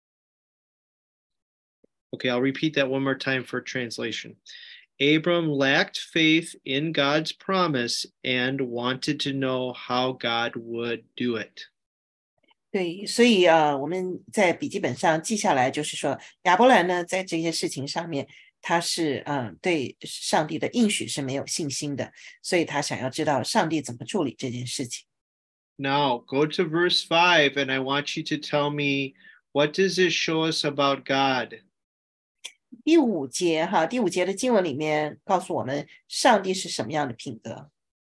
Okay, I'll repeat that one more time for translation. Abram lacked faith in God's promise and wanted to know how God would do it. 对，所以啊，我们在笔记本上记下来，就是说亚伯兰呢，在这些事情上面， 他是嗯对上帝的应许是没有信心的，所以他想要知道上帝怎么处理这件事情。 Now go to verse five, and I want you to tell me, what does it show us about God? 第五节哈，第五节的经文里面告诉我们上帝是什么样的品格。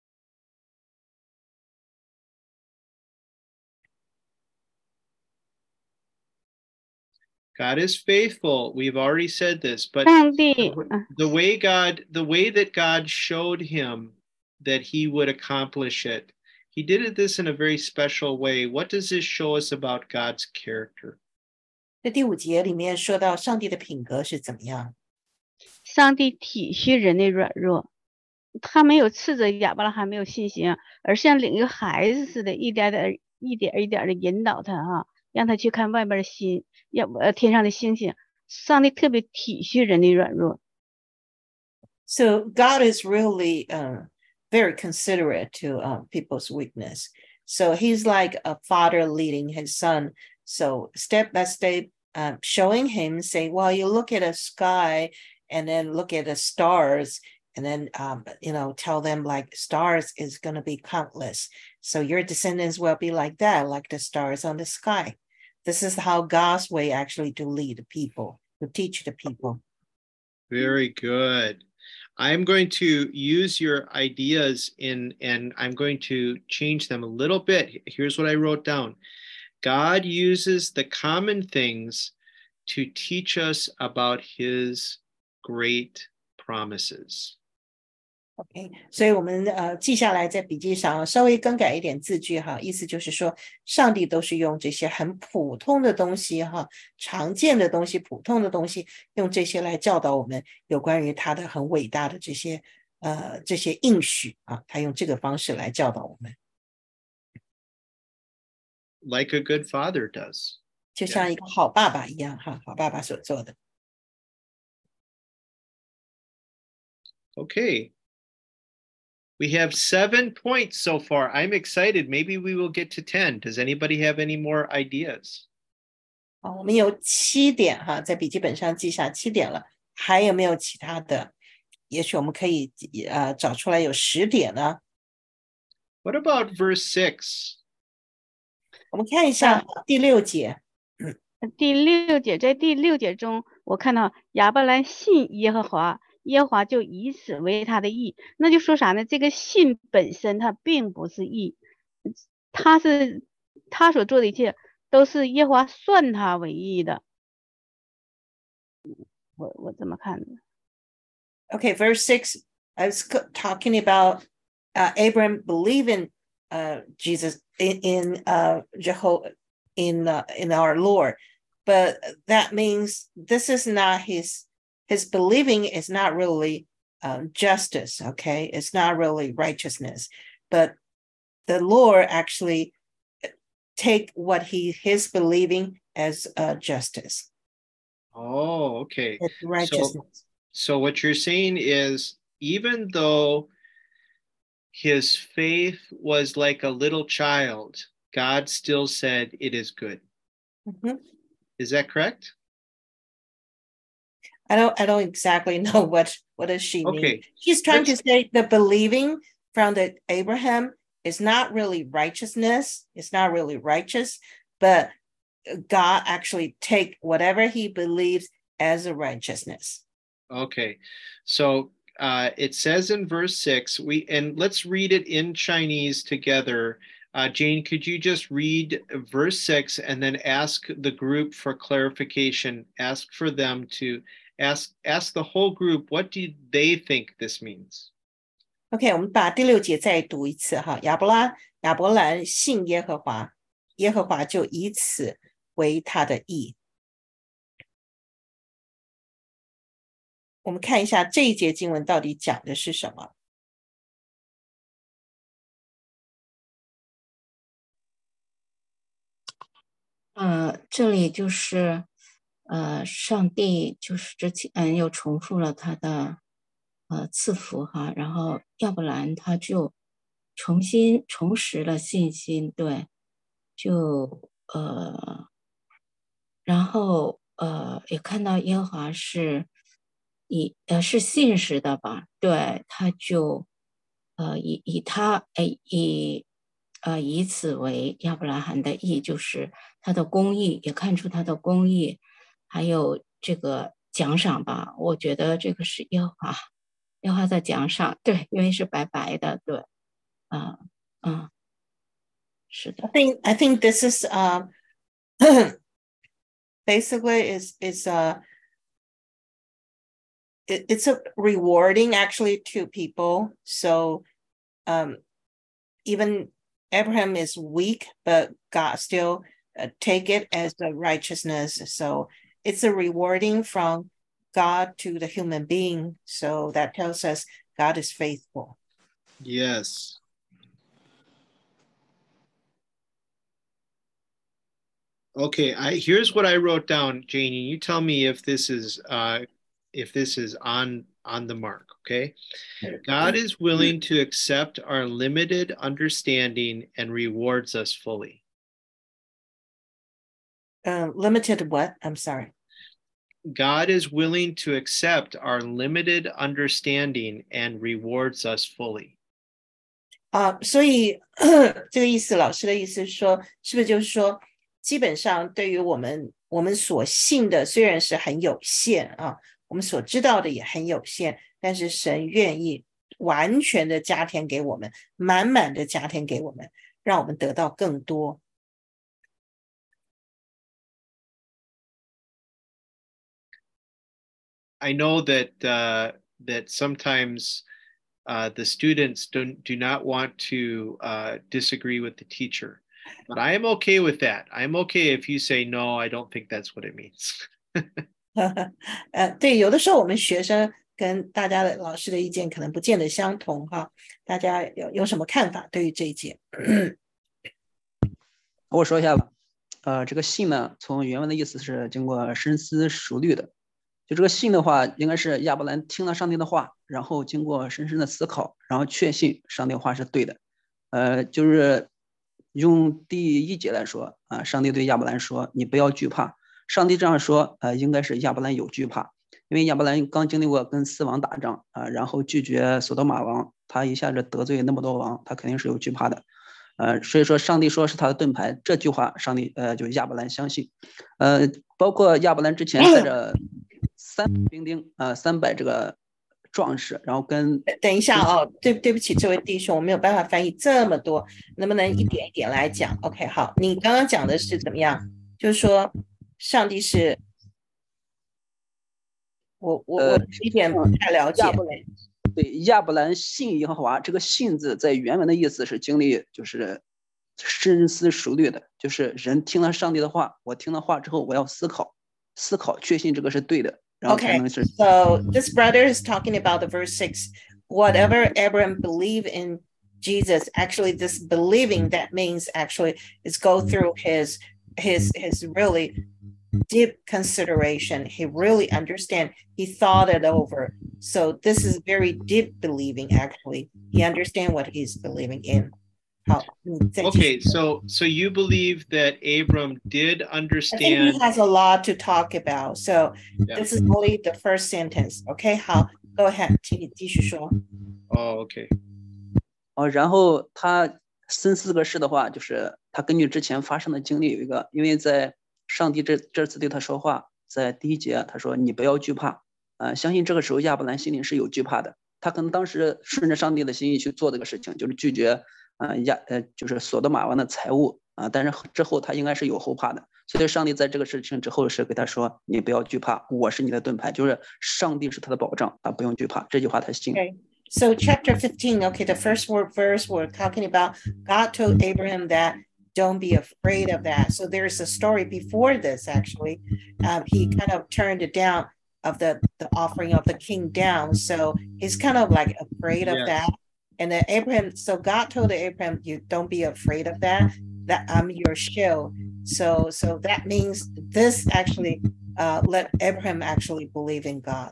God is faithful. We've already said this, but 上帝 the way God, the way that God showed him that he would accomplish it, he did this in a very special way. What does this show us about God's character? 这第五节里面说到上帝的品格是怎么样？ 上帝体恤人的软弱，他没有斥责亚伯拉罕没有信心，而是像领一个孩子似的，一点点、一点一点的引导他哈，让他去看外边的星，要呃天上的星星。上帝特别体恤人的软弱。 So God is really uh, very considerate to uh, people's weakness. So he's like a father leading his son. So step by step, uh, showing him, say, well, you look at a sky and then look at the stars and then, um, you know, tell them like stars is going to be countless. So your descendants will be like that, like the stars on the sky. This is how God's way actually to lead the people, to teach the people. Very good. I'm going to use your ideas in, and I'm going to change them a little bit. Here's what I wrote down. God uses the common things to teach us about his great promises. OK， 所以我们呃记下来在笔记上，稍微更改一点字句哈，意思就是说，上帝都是用这些很普通的东西哈，常见的东西、普通的东西，用这些来教导我们有关于他的很伟大的这些呃这些应许啊，他用这个方式来教导我们。 Like a good father does. 就像一个好爸爸一样哈，好爸爸所做的。 Okay. We have seven points so far. I'm excited. Maybe we will get to ten. Does anybody have any more ideas? 好，我们有七点哈，在笔记本上记下七点了。还有没有其他的？也许我们可以呃找出来有十点呢。 What about verse six? 我们看一下第六节。 第六节，在第六节中，我看到亚伯兰信耶和华。耶和华就以此为他的义，那就说啥呢？这个信本身它并不是义，他是他所做的一切都是耶和华算他为义的。我我怎么看的 Okay, verse six, I was talking about uh, Abraham believing uh, Jesus in, in uh, Jehovah, in uh, in our Lord, but that means this is not his. His believing is not really uh, justice, okay? It's not really righteousness, but the Lord actually take what he his believing as uh, justice. Oh, okay. It's righteousness. So, so what you're saying is, even though his faith was like a little child, God still said it is good. Mm-hmm. Is that correct? I don't I don't exactly know what what does she mean. Okay. She's trying Let's... to say the believing from the Abraham is not really righteousness. It's not really righteous, but God actually take whatever he believes as a righteousness. Okay. So uh, it says in verse six, we and let's read it in Chinese together. Uh, Jane, could you just read verse six and then ask the group for clarification? Ask for them to Ask ask the whole group, what do they think this means? OK, 我们把第六节再读一次哈。亚伯拉亚伯兰信耶和华，耶和华就以此为他的义。我们看一下这一节经文到底讲的是什么。 呃，这里就是。呃，上帝就是之前嗯又重复了他的呃赐福哈，然后亚伯兰他就重新重拾了信心，对，就呃，然后呃也看到耶和华是以呃是信实的吧，对，他就呃以以他哎以呃以此为亚伯拉罕的义，就是他的公义，也看出他的公义，还有这个奖赏吧。我觉得这个是耶和华耶和华的奖赏，对，因为是白白的，对，啊、呃、嗯，是的。 I think I think this is um basically is is uh it, it's a rewarding actually to people. So um even Abraham is weak, but God still uh, take it as a righteousness. So it's a rewarding from God to the human being. So that tells us God is faithful. Yes. Okay, I here's what I wrote down, Janie. You tell me if this is uh if this is on on the mark, okay? God is willing to accept our limited understanding and rewards us fully. Uh, limited what? I'm sorry. God is willing to accept our limited understanding and rewards us fully. 啊，所以这个意思，老师的意思是说，是不是就是说，基本上对于我们我们所信的虽然是很有限啊，我们所知道的也很有限，但是神愿意完全的加添给我们，满满的加添给我们，让我们得到更多。 I know that uh, that sometimes uh, the students don't do not want to uh, disagree with the teacher, but I am okay with that. I'm okay if you say no. I don't think that's what it means. 呃，对，有的时候我们学生跟大家的老师的意见可能不见得相同哈，大家有有什么看法对于这一节？ 我说一下吧。呃，这个信呢，从原文的意思是经过深思熟虑的。就这个信的话，应该是亚伯兰听了上帝的话，然后经过深深的思考，然后确信上帝的话是对的。呃，就是用第一节来说啊，上帝对亚伯兰说：“你不要惧怕。”上帝这样说，呃，应该是亚伯兰有惧怕，因为亚伯兰刚经历过跟四王打仗啊，然后拒绝索多玛王，他一下子得罪那么多王，他肯定是有惧怕的。呃，所以说上帝说是他的盾牌，这句话上帝呃就亚伯兰相信。呃，包括亚伯兰之前带着三百兵丁啊，三百这个壮士，然后跟等一下哦，对对不起，这位弟兄，我没有办法翻译这么多，能不能一点一点来讲 ？OK， 好，你刚刚讲的是怎么样？就是说，上帝是，我我我一点不太了解。 呃、对，亚伯兰信耶和华，这个信字在原文的意思是经历，就是深思熟虑的，就是人听了上帝的话，我听了话之后，我要思考，思考，确信这个是对的。 Okay, so this brother is talking about the verse six. Whatever Abraham believed in Jesus, actually, this believing that means actually is go through his his his really deep consideration. He really understand. He thought it over. So this is very deep believing. Actually, he understand what he's believing in. Okay, so so you believe that Abram did understand. I think he has a lot to talk about. So yeah. This is only the first sentence. Okay, 好 ，Go ahead， 请你继续说。 哦 ，OK。 哦，然后他深思这个事的话，就是他根据之前发生的经历有一个，因为在上帝这这次对他说话，在第一节他说你不要惧怕，呃，相信这个时候亚伯兰心里是有惧怕的，他可能当时顺着上帝的心意去做这个事情，就是拒绝。啊亚呃就是索多玛王的财物啊，但是之后他应该是有后怕的，所以上帝在这个事情之后是给他说：“你不要惧怕，我是你的盾牌，就是上帝是他的保障，他不用惧怕。”这句话他信。 Okay, so chapter fifteen, okay, the first word verse we're talking about, God told Abraham that don't be afraid of that. So there's a story before this actually. Um, he kind of turned it down of the the offering of the king down, so he's kind of like afraid of yeah. that. And then Abraham, so God told Abraham, you don't be afraid of that, that I'm your shield. So, so that means this actually uh, let Abraham actually believe in God.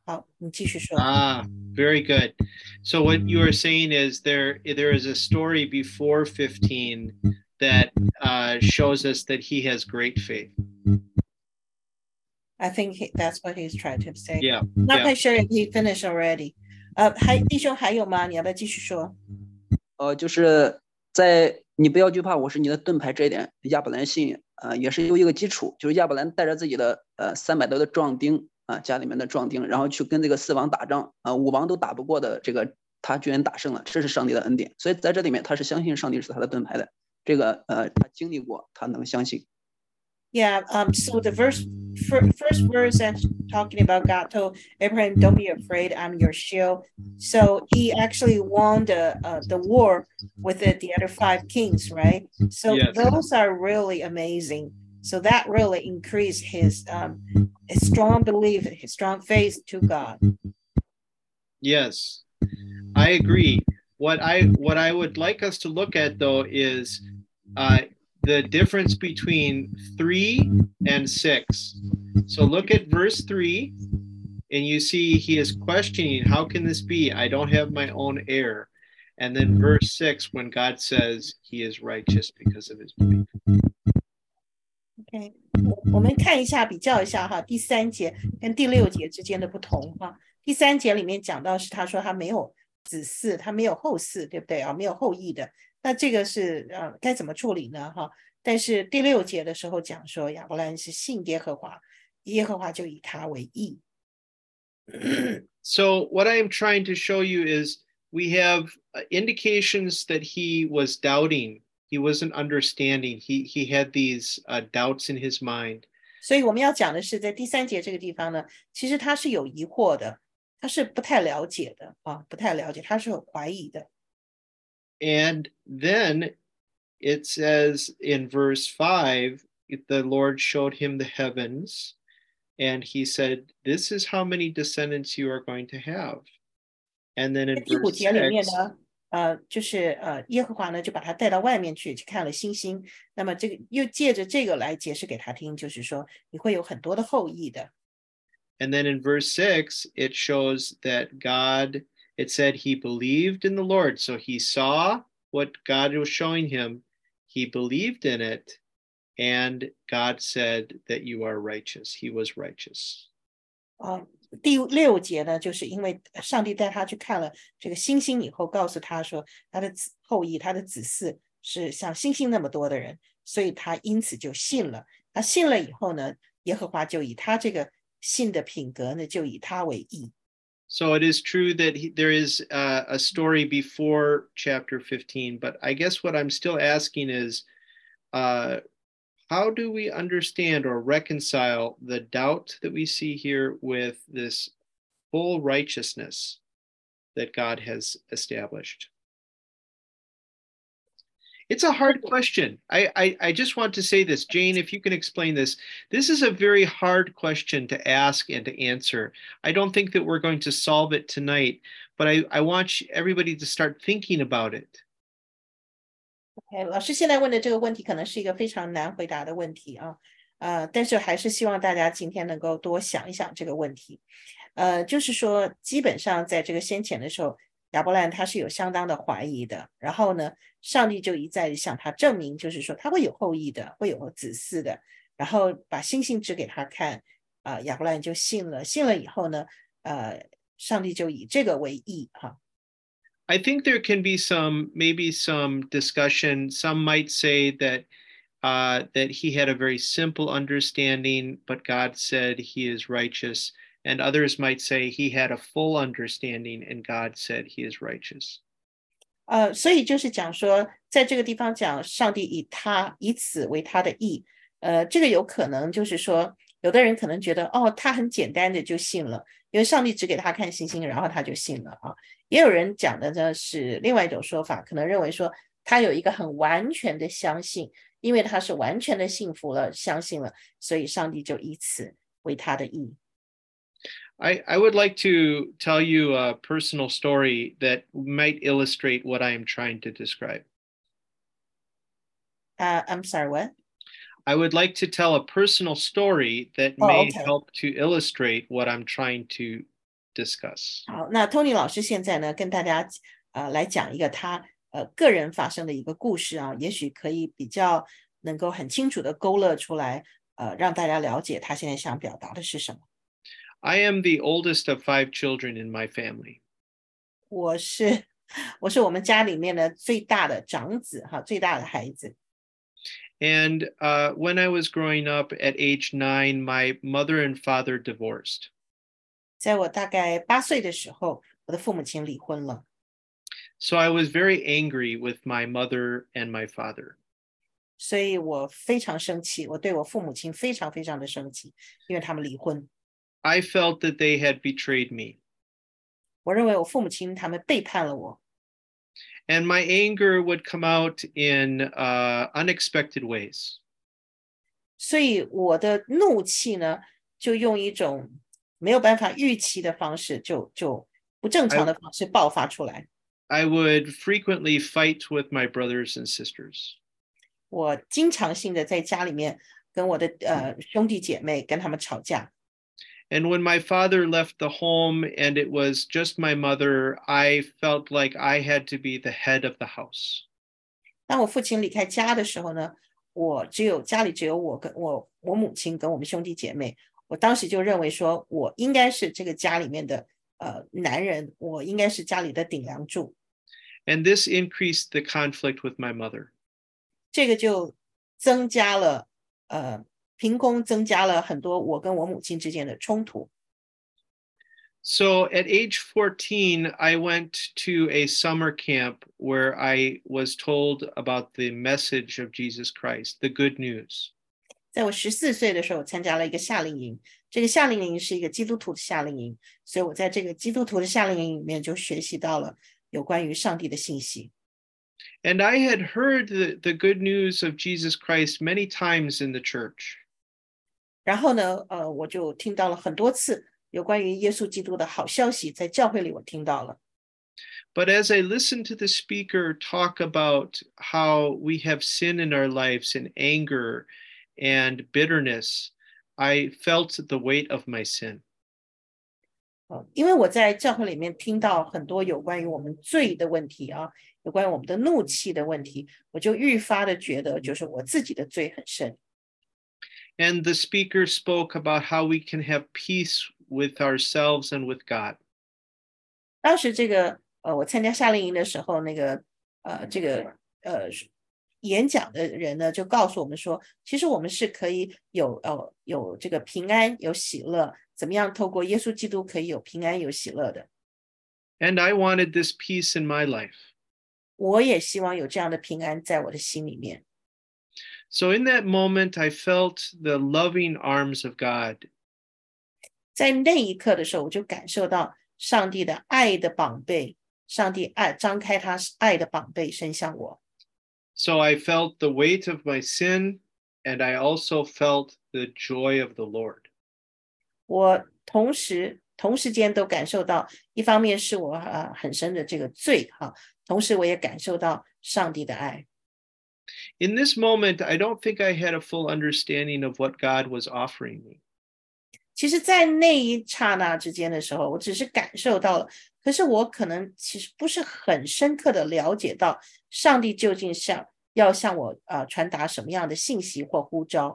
Ah, very good. So what you are saying is there, there is a story before fifteen that uh, shows us that he has great faith. I think he, that's what he's trying to say. Yeah. Not yeah. quite sure if he finished already. 呃，还弟兄还有吗？你要不要继续说？ 呃，就是在你不要惧怕，我是你的盾牌这一点，亚伯兰信呃也是有一个基础，就是亚伯兰带着自己的呃三百多的壮丁啊、呃，家里面的壮丁，然后去跟这个四王打仗啊、呃，五王都打不过的这个他居然打胜了，这是上帝的恩典，所以在这里面他是相信上帝是他的盾牌的，这个呃他经历过，他能相信。 Yeah, um, so the verse, first verse that's talking about God told Abraham, don't be afraid, I'm your shield. So he actually won the uh, the war with the, the other five kings, right? So yes. those are really amazing. So that really increased his, um, his strong belief, his strong faith to God. Yes, I agree. What I, what I would like us to look at though is uh, the difference between three and six. So look at verse three, and you see he is questioning, how can this be? I don't have my own heir. And then verse six, when God says he is righteous because of his belief. OK， 我们看一下，比较一下哈，第三节跟第六节之间的不同哈。第三节里面讲到是他说他没有子嗣，他没有后嗣，对不对啊？没有后裔的。那这个是呃该怎么处理呢？哈，但是第六节的时候讲说亚伯兰是信耶和华，耶和华就以他为义。 So what I am trying to show you is we have indications that he was doubting, he wasn't understanding, he he had these uh, doubts in his mind. 所以我们要讲的是，在第三节这个地方呢，其实他是有疑惑的，他是不太了解的啊，不太了解，他是有怀疑的。 And then it says in verse five, the Lord showed him the heavens, and he said, this is how many descendants you are going to have. And then in 第五 verse 节里面 six, 呢，呃，就是呃，耶和华呢就把他带到外面去，去看了星星。那么这个又借着这个来解释给他听，就是说你会有很多的后裔的。 And then in verse six, it shows that God, it said he believed in the Lord. So he saw what God was showing him, he believed in it, and God said that you are righteous. He was righteous. 啊，第六节呢，就是因为上帝带他去看了这个星星以后，告诉他说他的子后裔，他的子嗣是像星星那么多的人，所以他因此就信了。他信了以后呢，耶和华就以他这个信的品格呢，就以他为义。 So it is true that he, there is uh, a story before chapter fifteen, but I guess what I'm still asking is, uh, how do we understand or reconcile the doubt that we see here with this full righteousness that God has established? It's a hard question. I, I, I just want to say this, Jane, if you can explain this. This is a very hard question to ask and to answer. I don't think that we're going to solve it tonight, but I, I want everybody to start thinking about it. OK， 老师现在问的这个问题可能是一个非常难回答的问题啊，呃，但是还是希望大家今天能够多想一想这个问题。呃，就是说，基本上在这个先前的时候，亚伯兰他是有相当的怀疑的，然后呢，上帝就一再向他证明，就是说他会有后裔的，会有子嗣的，然后把星星指给他看，啊、呃，亚伯兰就信了，信了以后呢，呃，上帝就以这个为义哈。 I think there can be some, maybe some discussion. Some might say that uh, that he had a very simple understanding, but God said he is righteous. And others might say he had a full understanding, and God said he is righteous. 呃，所以就是讲说，在这个地方讲，上帝以他以此为他的义。呃，这个有可能就是说，有的人可能觉得，哦，他很简单的就信了，因为上帝只给他看星星，然后他就信了啊。也有人讲的呢是另外一种说法，可能认为说他有一个很完全的相信，因为他是完全的信服了、相信了，所以上帝就以此为他的义。 I, I would like to tell you a personal story that might illustrate what I am trying to describe. Uh, I'm sorry, what? I would like to tell a personal story that Oh, may okay. help to illustrate what I'm trying to discuss. 好，那 Tony 老师现在呢，跟大家呃来讲一个他呃个人发生的一个故事啊，也许可以比较能够很清楚的勾勒出来呃，让大家了解他现在想表达的是什么。 I am the oldest of five children in my family. 我是我是我们家里面的最大的长子哈，最大的孩子。 And uh, when I was growing up at age nine, my mother and father divorced. 在我大概八岁的时候，我的父母亲离婚了。 So I was very angry with my mother and my father. 所以我非常生气，我对我父母亲非常非常的生气，因为他们离婚。 I felt that they had betrayed me. 我认为我父母亲他们背叛了我。 And my anger would come out in uh, unexpected ways. 所以我的怒气呢，就用一种没有办法预期的方式，就就不正常的方式爆发出来。 I would frequently fight with my brothers and sisters. 我经常性的在家里面跟我的呃兄弟姐妹跟他们吵架。 And when my father left the home and it was just my mother, I felt like I had to be the head of the house. 当我父亲离开家的时候呢，我只有家里只有我跟我我母亲跟我们兄弟姐妹，我当时就认为说我应该是这个家里面的呃男人，我应该是家里的顶梁柱。 And this increased the conflict with my mother. 这个就增加了呃凭空增加了很多我跟我母亲之间的冲突。 So at age fourteen, I went to a summer camp where I was told about the message of Jesus Christ, the good news. 在我十四岁的时候，参加了一个夏令营。这个夏令营是一个基督徒的夏令营，所以我在这个基督徒的夏令营里面就学习到了有关于上帝的信息。 And I had heard the, the good news of Jesus Christ many times in the church. 然后呢，呃，我就听到了很多次有关于耶稣基督的好消息，在教会里我听到了。 But as I listened to the speaker talk about how we have sin in our lives and anger and bitterness, I felt the weight of my sin. 呃，因为我在教会里面听到很多有关于我们罪的问题啊，有关于我们的怒气的问题，我就愈发的觉得，就是我自己的罪很深。 And the speaker spoke about how we can have peace with ourselves and with God. 当时这个呃，我参加夏令营的时候，那个呃，这个呃演讲的人呢，就告诉我们说，其实我们是可以有呃有这个平安，有喜乐，怎么样透过耶稣基督可以有平安有喜乐的。 And I wanted this peace in my life. 我也希望有这样的平安在我的心里面。 So in that moment, I felt the loving arms of God. 在那一刻的时候，我就感受到上帝的爱的膀臂，上帝爱张开他爱的膀臂伸向我。 So I felt the weight of my sin, and I also felt the joy of the Lord. 我同时同时间都感受到，一方面是我呃很深的这个罪哈，同时我也感受到上帝的爱。 In this moment, I don't think I had a full understanding of what God was offering me. 其实在那一刹那之间的时候，我只是感受到了，可是我可能其实不是很深刻的了解到上帝究竟向要向我呃传达什么样的信息或呼召。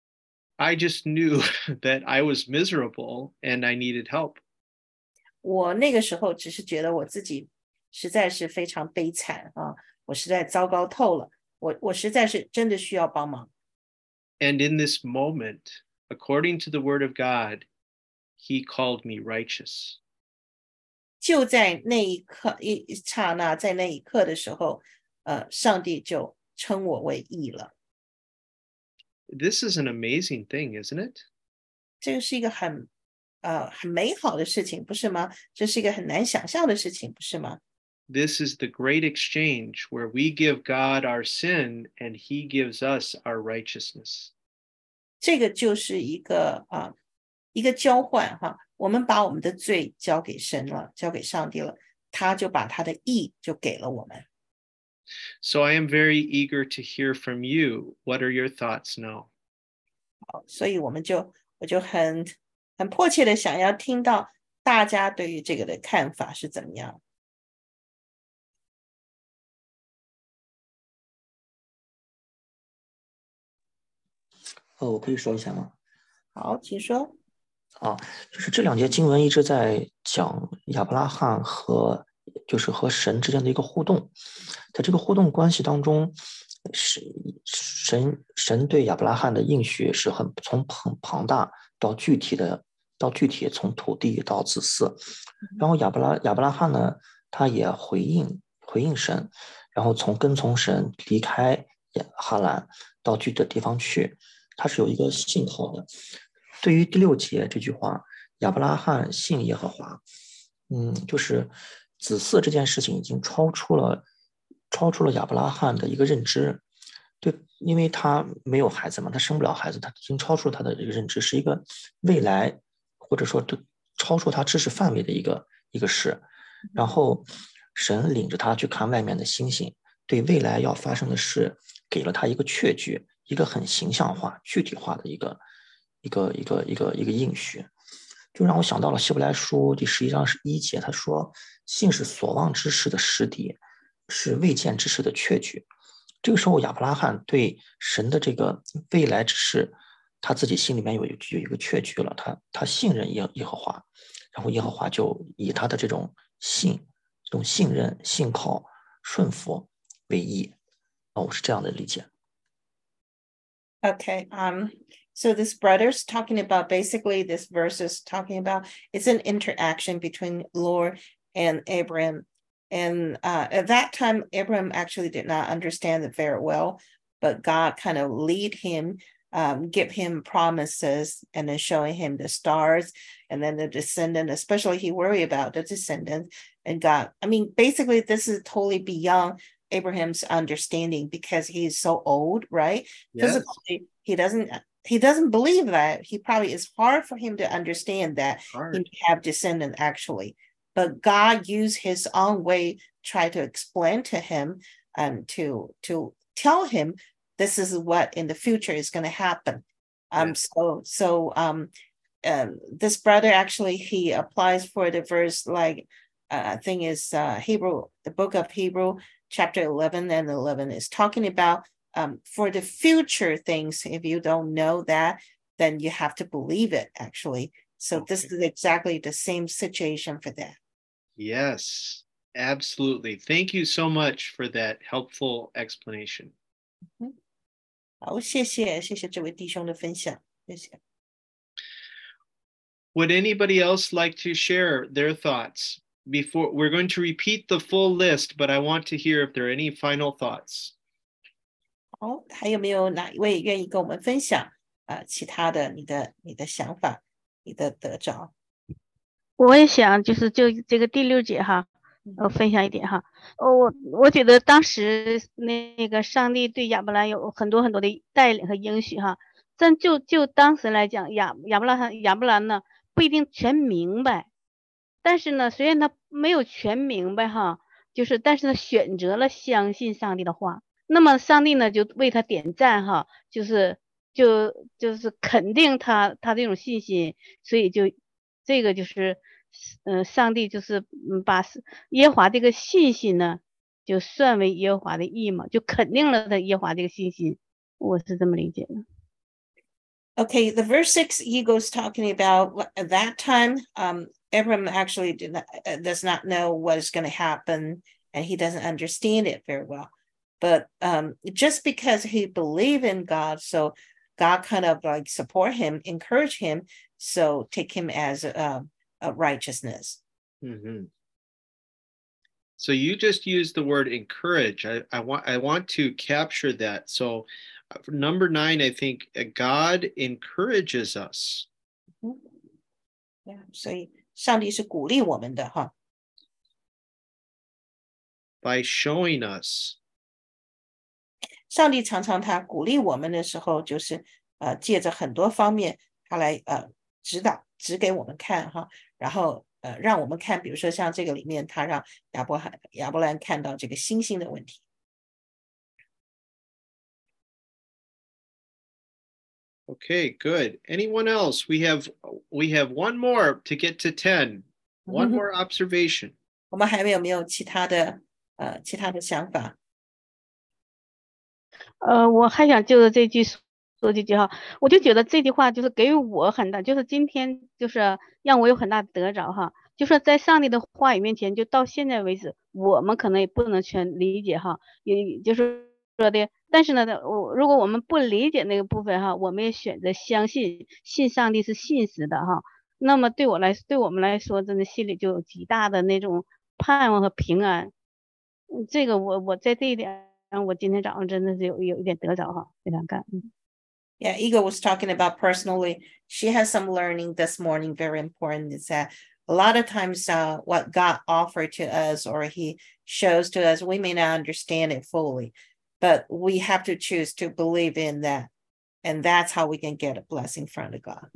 I just knew that I was miserable and I needed help. 我那个时候只是觉得我自己实在是非常悲惨啊，我实在糟糕透了，我我实在是真的需要帮忙。 And in this moment, according to the word of God, he called me righteous. 就在那一刻一刹那，在那一刻的时候，呃，上帝就称我为义了。 This is an amazing thing, isn't it? 这个是一个很呃很美好的事情，不是吗？这是一个很难想象的事情，不是吗？ This is the great exchange where we give God our sin and he gives us our righteousness. 这个就是一个啊一个交换哈，我们把我们的罪交给神了，交给上帝了，他就把他的义就给了我们。 So I am very eager to hear from you. What are your thoughts now? 好，所以我们就我就很很迫切的想要听到大家对于这个的看法是怎么样。 呃，我可以说一下吗？ 好，请说。 啊，就是这两节经文一直在讲亚伯拉罕和就是和神之间的一个互动，在这个互动关系当中，是神神对亚伯拉罕的应许是很从很庞大到具体的，到具体从土地到子嗣，然后亚伯拉亚伯拉罕呢，他也回应回应神，然后从跟从神离开哈兰到具体的地方去，他是有一个信号的。对于第六节这句话，亚伯拉罕信耶和华，嗯，就是子嗣这件事情已经超出了超出了亚伯拉罕的一个认知，对，因为他没有孩子嘛，他生不了孩子，他已经超出了他的这个认知，是一个未来或者说超出他知识范围的一个一个事。然后神领着他去看外面的星星，对未来要发生的事给了他一个确据，一个很形象化、具体化的一个。一个一个一个一个应许，就让我想到了希伯来书第十一章十一节，他说：“信是所望之事的实底，是未见之事的确据。”这个时候，亚伯拉罕对神的这个未来之事，他自己心里面有有一个确据了，他他信任耶耶和华，然后耶和华就以他的这种信、这种信任、信靠、顺服为义。啊，我是这样的理解。 Okay, um, so this brother's talking about basically this verse is talking about it's an interaction between Lord and Abraham. And uh, at that time, Abraham actually did not understand it very well, but God kind of lead him, um, give him promises, and then showing him the stars, and then the descendant, especially he worried about the descendant. And God, I mean, basically, this is totally beyond Abraham's understanding because he's so old, right? Yes. Physically, he doesn't he doesn't believe that. He probably it's hard for him to understand that hard. He have descendant actually. But God used his own way, try to explain to him and um, to to tell him this is what in the future is going to happen. Um, yeah. so so um, um, this brother actually he applies for the verse like uh, I think is uh, Hebrew, the book of Hebrew. Chapter eleven and eleven is talking about um, for the future things. If you don't know that, then you have to believe it, actually. So okay. This is exactly the same situation for that. Yes, absolutely. Thank you so much for that helpful explanation. 好，谢谢，谢谢这位弟兄的分享，谢谢。 Would anybody else like to share their thoughts? Before we're going to repeat the full list, but I want to hear if there are any final thoughts. 好，还有没有哪一位愿意跟我们分享啊？其他的你的你的想法，你的得着？ 我也想就是就这个第六节哈，我分享一点哈。我我觉得当时那个上帝对亚伯兰有很多很多的带领和应许哈，但就就当时来讲，亚亚伯兰亚伯兰呢不一定全明白。但是呢，虽然他没有全明白哈，就是但是他选择了相信上帝的话，那么上帝呢就为他点赞哈，就是就就是肯定他他这种信心，所以就这个就是嗯、呃，上帝就是嗯把耶和华这个信心呢就算为耶和华的义嘛，就肯定了他耶和华这个信心，我是这么理解的。 Okay, the verse six, he goes talking about at that time, um, Abraham actually did not, uh, does not know what is going to happen, and he doesn't understand it very well. But um, just because he believed in God, so God kind of like support him, encourage him, so take him as a, a righteousness. Mm-hmm. So you just used the word encourage. I, I want I want to capture that. So for number nine, I think God encourages us. Yeah, 所以上帝是鼓励我们的哈。 By showing us. 上帝常常他鼓励我们的时候，就是呃借着很多方面，他来呃指导指给我们看哈，然后呃让我们看，比如说像这个里面，他让亚伯罕亚伯兰看到这个星星的问题。 Okay, good. Anyone else? We have we have one more to get to ten. One more observation. 我们还有没有其他的呃其他的想法？ 呃，我还想就着这句说这句话，我就觉得这句话就是给予我很大，就是今天就是让我有很大的得着哈。就说在上帝的话语面前，就到现在为止，我们可能也不能全理解哈，也就是说的，但是呢，我如果我们不理解那个部分哈，我们也选择相信，信上帝是信实的哈。那么对我来，对我们来说，真的心里就有极大的那种盼望和平安。嗯，这个我我在这一点上，我今天早上真的是有有一点得着哈，非常感恩。 Yeah, Ego was talking about personally. She has some learning this morning. Very important is that a lot of times uh, what God offered to us or he shows to us, we may not understand it fully, but we have to choose to believe in that. And that's how we can get a blessing from God.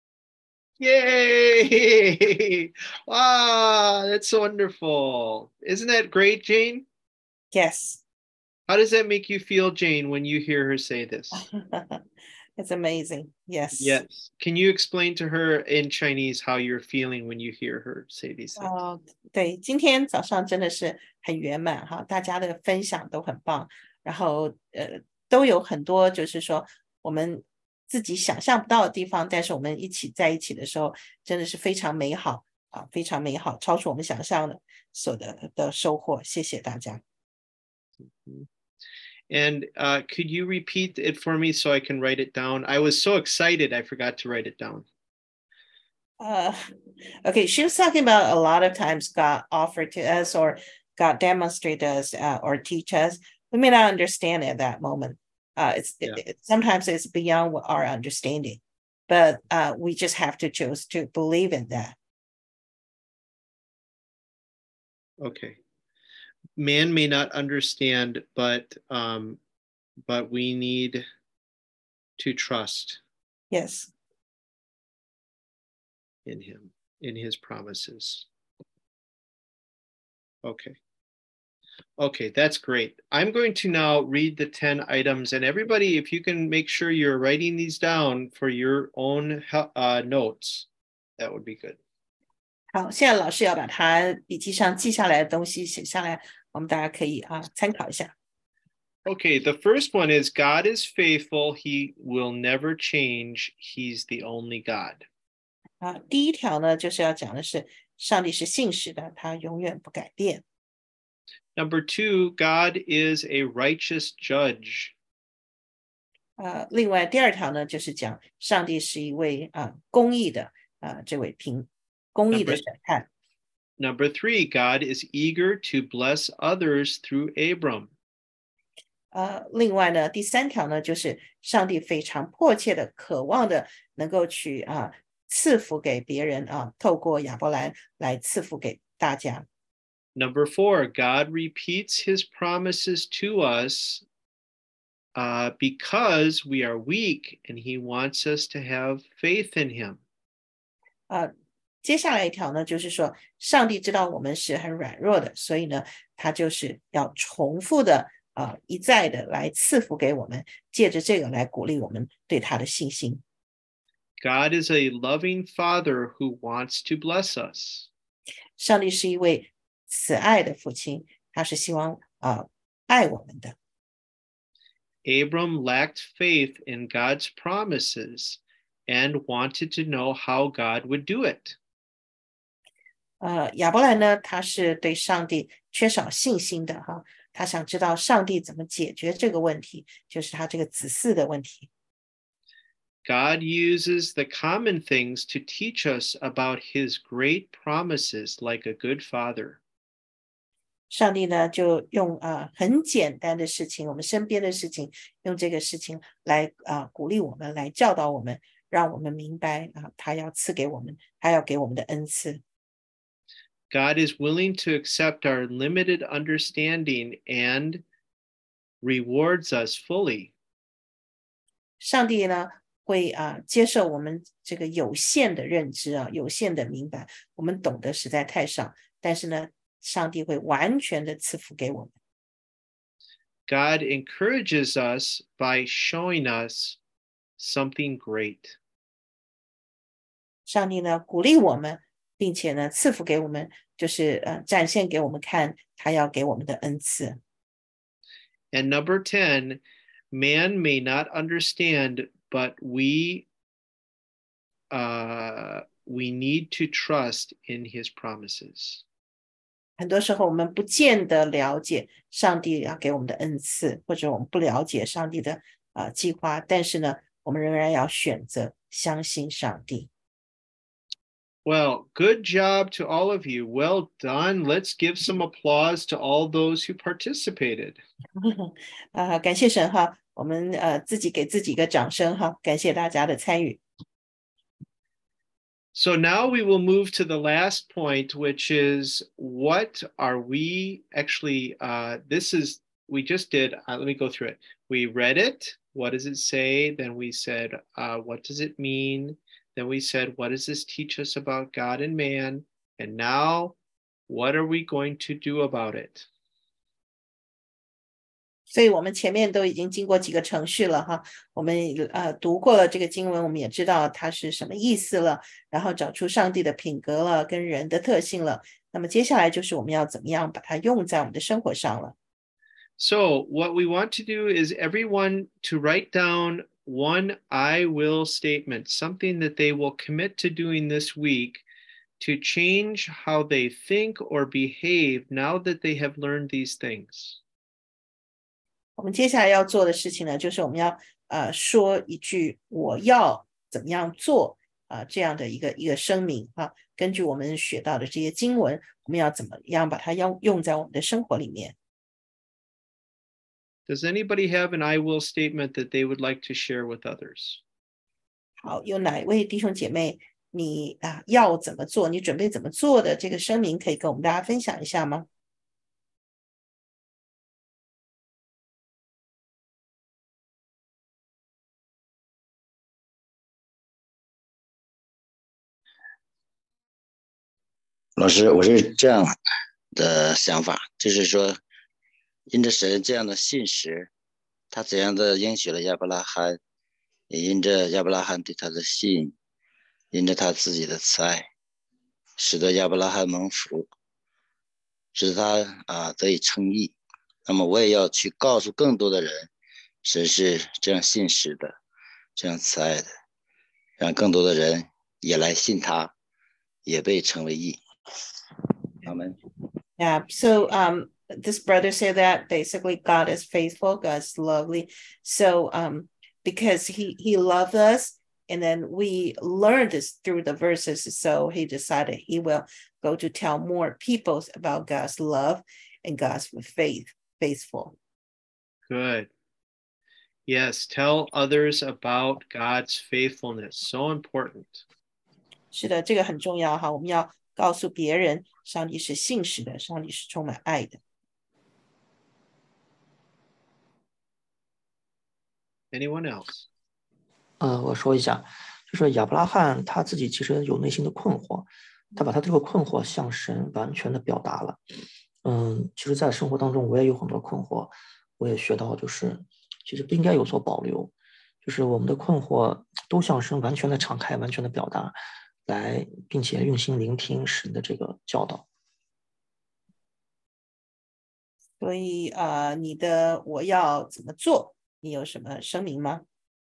Yay! Wow, that's wonderful. Isn't that great, Jane? Yes. How does that make you feel, Jane, when you hear her say this? It's amazing. Yes. Yes. Can you explain to her in Chinese how you're feeling when you hear her say these things? 哦，对，今天早上真的是很圆满哈，大家的分享都很棒，然后呃都有很多就是说我们自己想象不到的地方，但是我们一起在一起的时候，真的是非常美好啊，非常美好，超出我们想象的所得的收获。谢谢大家。 And uh, could you repeat it for me so I can write it down? I was so excited, I forgot to write it down. Uh, okay, she was talking about a lot of times God offered to us or God demonstrated us uh, or teach us. We may not understand at that moment. Uh, it's yeah. it, it, sometimes it's beyond our understanding, but uh, we just have to choose to believe in that. Okay. Man may not understand, but um, but we need to trust. Yes. In him, in his promises. Okay. Okay, that's great. I'm going to now read the ten items, and everybody, if you can make sure you're writing these down for your own uh, notes, that would be good. 好，现在老师要把他笔记上记下来的东西写下来，我们大家可以啊参考一下。 Okay, the first one is God is faithful. He will never change. He's the only God. 啊，第一条呢，就是要讲的是上帝是信实的，他永远不改变。 Number two, God is a righteous judge. 呃，另外第二条呢，就是讲上帝是一位啊公义的啊这位评公义的审判。 Number three, God is eager to bless others through Abram. 呃，另外呢，第三条呢，就是上帝非常迫切的、渴望的，能够去啊赐福给别人啊，透过亚伯兰来赐福给大家。 Number four, God repeats his promises to us uh, because we are weak, and he wants us to have faith in him. 呃，接下来一条呢，就是说，上帝知道我们是很软弱的，所以呢，他就是要重复的。呃，一再的来赐福给我们，借着这个来鼓励我们对他的信心。 God is a loving Father who wants to bless us. 上帝是一位慈爱的父亲，他是希望啊、呃、爱我们的。 Abram lacked faith in God's promises and wanted to know how God would do it. 呃，亚伯兰呢，他是对上帝缺少信心的哈。他想知道上帝怎么解决这个问题，就是他这个子嗣的问题。 God uses the common things to teach us about his great promises like a good father. 上帝呢，就用啊、呃、很简单的事情，我们身边的事情，用这个事情来啊、呃、鼓励我们，来教导我们，让我们明白啊、呃，他要赐给我们，他要给我们的恩赐。 God is willing to accept our limited understanding and rewards us fully. 上帝呢会啊、呃、接受我们这个有限的认知啊，有限的明白，我们懂得实在太少，但是呢，上帝会完全的赐福给我们。 God encourages us by showing us something great. 上帝呢鼓励我们。并且呢，赐福给我们，就是呃，展现给我们看他要给我们的恩赐。 And number ten, man may not understand, but we uh, we need to trust in his promises. 很多时候我们不见得了解上帝要给我们的恩赐，或者我们不了解上帝的呃计划，但是呢，我们仍然要选择相信上帝。 Well, good job to all of you. Well done. Let's give some applause to all those who participated. 啊，感谢神哈，我们呃自己给自己一个掌声哈，感谢大家的参与。 So now we will move to the last point, which is what are we actually, uh, this is, we just did, uh, let me go through it. We read it. What does it say? Then we said, uh, what does it mean? Then we said, what does this teach us about God and man? And now, what are we going to do about it? 所以我们前面都已经经过几个程序了哈，我们呃读过了这个经文，我们也知道它是什么意思了，然后找出上帝的品格了，跟人的特性了。那么接下来就是我们要怎么样把它用在我们的生活上了。 So what we want to do is everyone to write down one I will statement, something that they will commit to doing this week to change how they think or behave now that they have learned these things. 我们接下来要做的事情呢，就是我们要呃说一句我要怎么样做啊、呃、这样的一个一个声明啊，根据我们学到的这些经文，我们要怎么样把它用用在我们的生活里面。 Does anybody have an I will statement that they would like to share with others? 好，有哪一位弟兄姐妹，你啊要怎么做？你准备怎么做的这个声明，可以跟我们大家分享一下吗？ 老师，我是这样的想法，就是说，因着神这样的信实，他怎样的应许了亚伯拉罕，也因着亚伯拉罕对他的信，因着他自己的慈爱，使得亚伯拉罕蒙福，使得他啊得以称义。那么我也要去告诉更多的人，神是这样信实的，这样慈爱的，让更多的人也来信他，也被称为义。Amen. Yeah, so um, this brother said that basically God is faithful, God's lovely. So um, because he, he loved us, and then we learned this through the verses, so he decided he will go to tell more people about God's love and God's faith, faithful. Good. Yes, tell others about God's faithfulness. So important. 是的，这个很重要哈，我们要告诉别人，上帝是信实的，上帝是充满爱的。 Anyone else? 呃，我说一下，就是亚伯拉罕他自己其实有内心的困惑，他把他这个困惑向神完全的表达了。嗯，其实，在生活当中我也有很多困惑，我也学到，就是其实不应该有所保留，就是我们的困惑都向神完全的敞开，完全的表达。来，并且用心聆听神的这个教导。 所以呃，你的我要怎么做？你有什么声明吗？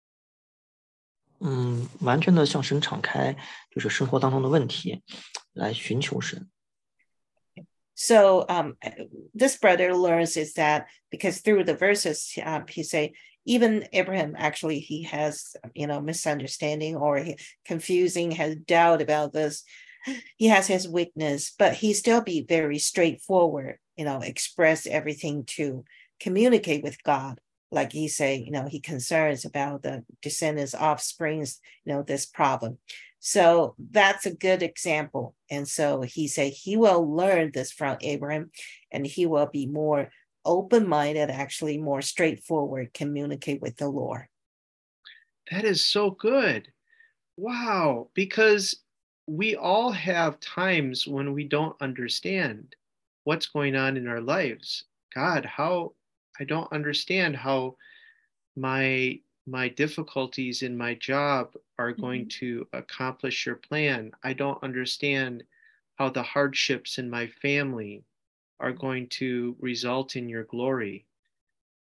嗯，完全的向神敞开，就是生活当中的问题，来寻求神。 So um, this brother learns is that because through the verses, um, he say, even Abraham, actually, he has, you know, misunderstanding or he, confusing, has doubt about this. He has his weakness, but he still be very straightforward, you know, express everything to communicate with God. Like he say, you know, he concerns about the descendants, offsprings, you know, this problem. So that's a good example. And so he said he will learn this from Abraham, and he will be more open-minded, actually more straightforward, communicate with the Lord. That is so good. Wow. Because we all have times when we don't understand what's going on in our lives. God, how I don't understand how my my difficulties in my job are going mm-hmm. to accomplish your plan. I don't understand how the hardships in my family are going to result in your glory.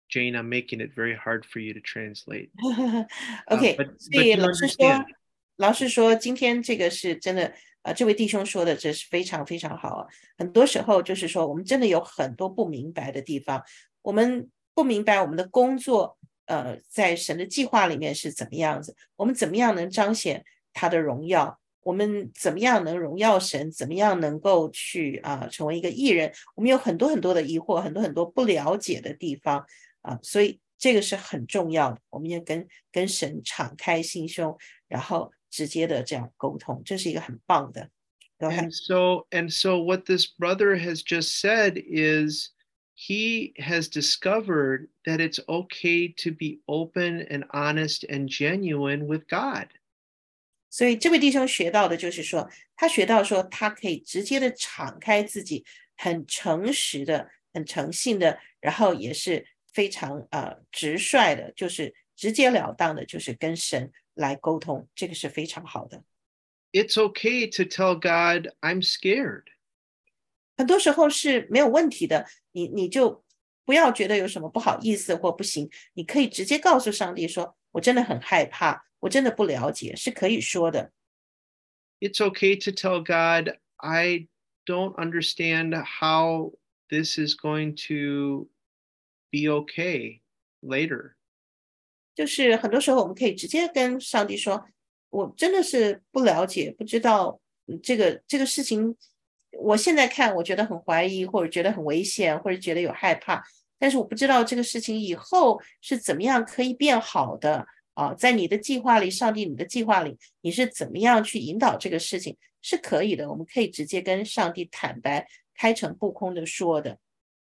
Jane, I'm making it very hard for you to translate. OK， uh, but, 所 but 以 you 老师说， understand. 老师说今天这个是真的，呃，这位弟兄说的这是非常非常好啊。很多时候就是说，我们真的有很多不明白的地方，我们不明白我们的工作，呃，在神的计划里面是怎么样子，我们怎么样能彰显他的荣耀，我们怎么样能荣耀神，怎么样能够去啊、呃、成为一个艺人，我们有很多很多的疑惑，很多很多不了解的地方啊、呃，所以这个是很重要的，我们要跟跟神敞开心胸，然后直接的这样沟通，这是一个很棒的。 And so, and so what this brother has just said is he has discovered that it's okay to be open and honest and genuine with God. 所以这位弟兄学到的就是说，他学到说他可以直接的敞开自己，很诚实的，很诚信的，然后也是非常呃直率的，就是直截了当的，就是跟神来沟通，这个是非常好的。 It's okay to tell God I'm scared. 很多时候是没有问题的，你你就不要觉得有什么不好意思或不行，你可以直接告诉上帝说，我真的很害怕，我真的不了解，是可以说的。 It's okay to tell God I don't understand how this is going to be okay later. 就是很多时候我们可以直接跟上帝说，我真的是不了解，不知道这个这个事情，我现在看我觉得很怀疑，或者觉得很危险，或者觉得有害怕，但是我不知道这个事情以后是怎么样可以变好的啊，在你的计划里，上帝你的计划里，你是怎么样去引导这个事情，是可以的，我们可以直接跟上帝坦白，开诚布空的说的。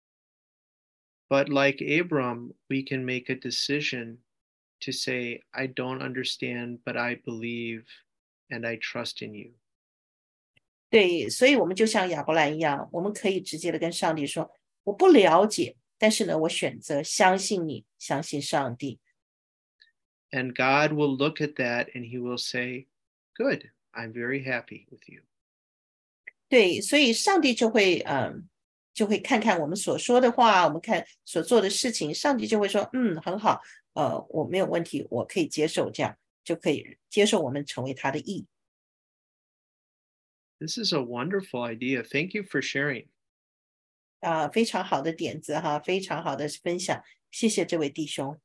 But like Abram, we can make a decision to say, I don't understand, but I believe and I trust in you. 对，所以我们就像亚伯兰一样，我们可以直接的跟上帝说，我不了解，但是呢，我选择相信你，相信上帝。 And God will look at that and he will say, good, I'm very happy with you. 对，所以上帝就会嗯，就会看看我们所说的话，我们看所做的事情，上帝就会说，嗯，很好，呃，我没有问题，我可以接受，这样就可以接受我们成为他的义。 This is a wonderful idea. Thank you for sharing. 啊、呃，非常好的点子哈，非常好的分享，谢谢这位弟兄。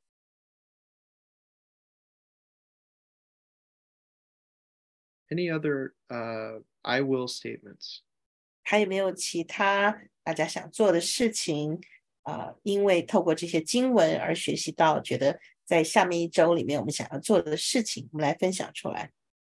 Any other uh, I will statements? 还有没有其他大家想做的事情啊、呃？因为透过这些经文而学习到，觉得在下面一周里面我们想要做的事情，我们来分享出来。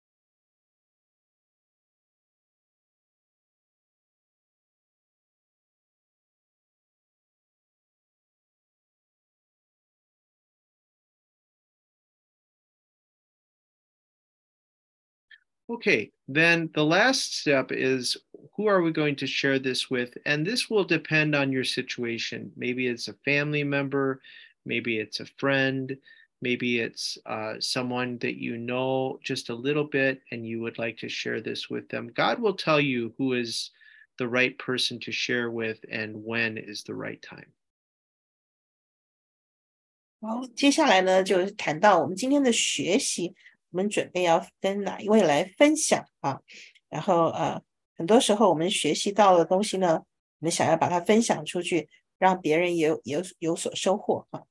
Okay, then the last step is who are we going to share this with? And this will depend on your situation. Maybe it's a family member, maybe it's a friend, maybe it's uh, someone that you know just a little bit and you would like to share this with them. God will tell you who is the right person to share with and when is the right time. 好，接下来呢，就谈到我们今天的学习。我们准备要跟哪一位来分享啊？然后呃，很多时候我们学习到的东西呢，我们想要把它分享出去，让别人也有有有所收获啊。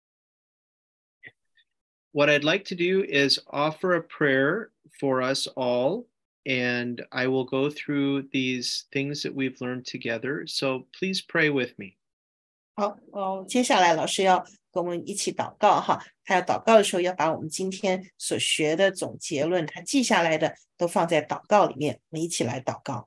What I'd like to do is offer a prayer for us all, and I will go through these things that we've learned together. So please pray with me. 好，哦，接下来老师要跟我们一起祷告哈。他要祷告的时候，要把我们今天所学的总结论，他记下来的都放在祷告里面。我们一起来祷告。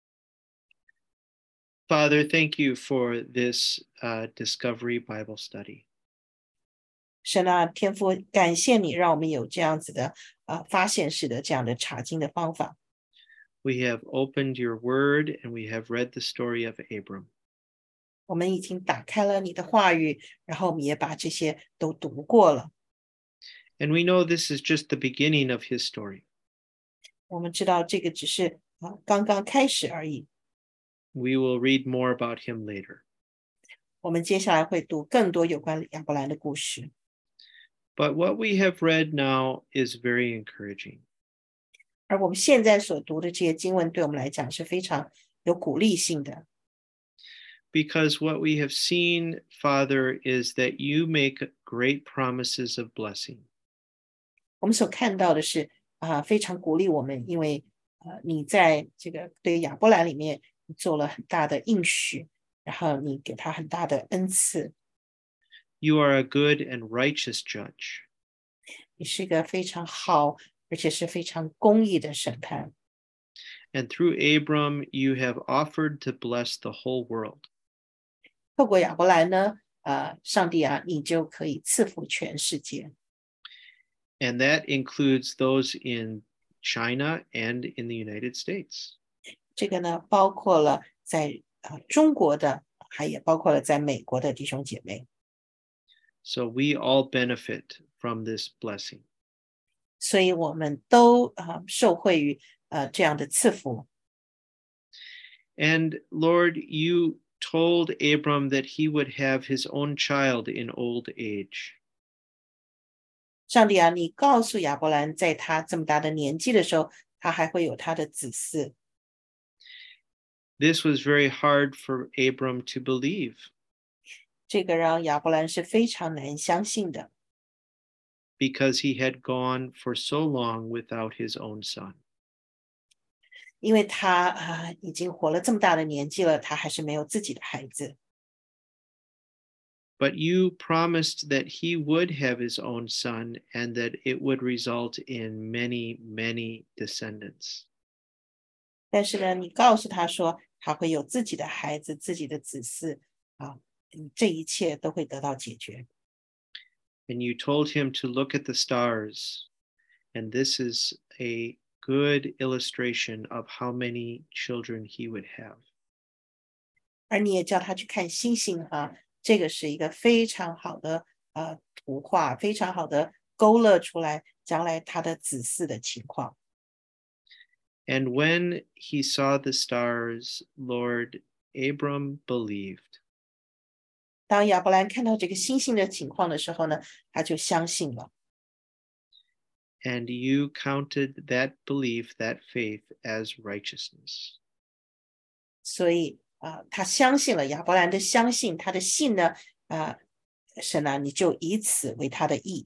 Father, thank you for this uh, Discovery Bible study. 神啊，天父，感谢你让我们有这样子的呃发现式的这样的查经的方法。 We have opened your word and we have read the story of Abram. 我们已经打开了你的话语，然后我们也把这些都读过了。 And we know this is just the beginning of his story. 我们知道这个只是啊刚刚开始而已。 We will read more about him later. 我们接下来会读更多有关亚伯兰的故事。 But what we have read now is very encouraging. 而我们现在所读的这些经文对我们来讲是非常有鼓励性的。 Because what we have seen, Father, is that you make great promises of blessing. 我们所看到的是啊、呃，非常鼓励我们，因为呃，你在这个对亚伯兰里面你做了很大的应许，然后你给他很大的恩赐。 You are a good and righteous judge. 你是一个非常好，而且是非常公义的审判。 And through Abram, you have offered to bless the whole world. 透过亚伯兰呢，呃，上帝啊，你就可以赐福全世界。 And that includes those in China and in the United States. 这个呢，包括了在呃中国的，还也包括了在美国的弟兄姐妹。 So we all benefit from this blessing. 所以我们都呃受惠于呃这样的赐福。 And Lord, you told Abram that he would have his own child in old age. 上帝啊，你告诉亚伯兰，在他这么大的年纪的时候，他还会有他的子嗣。 This was very hard for Abram to believe. 这个让亚伯兰是非常难相信的。 Because he had gone for so long without his own son. 因为他啊、呃、已经活了这么大的年纪了，他还是没有自己的孩子。 But you promised that he would have his own son and that it would result in many, many descendants. 但是呢，你告诉他说，他会有自己的孩子、自己的子嗣啊，这一切都会得到解决。 And you told him to look at the stars, and this is a good illustration of how many children he would have. 而你也叫他去看星星啊，这个是一个非常好的呃图画，非常好的勾勒出来将来他的子嗣的情况。 And when he saw the stars, Lord, Abram believed. 当亚伯兰看到这个星星的情况的时候呢，他就相信了。 And you counted that belief, that faith as righteousness. 所以啊、呃，他相信了亚伯兰的相信，他的信呢，啊、呃，神啊，你就以此为他的义。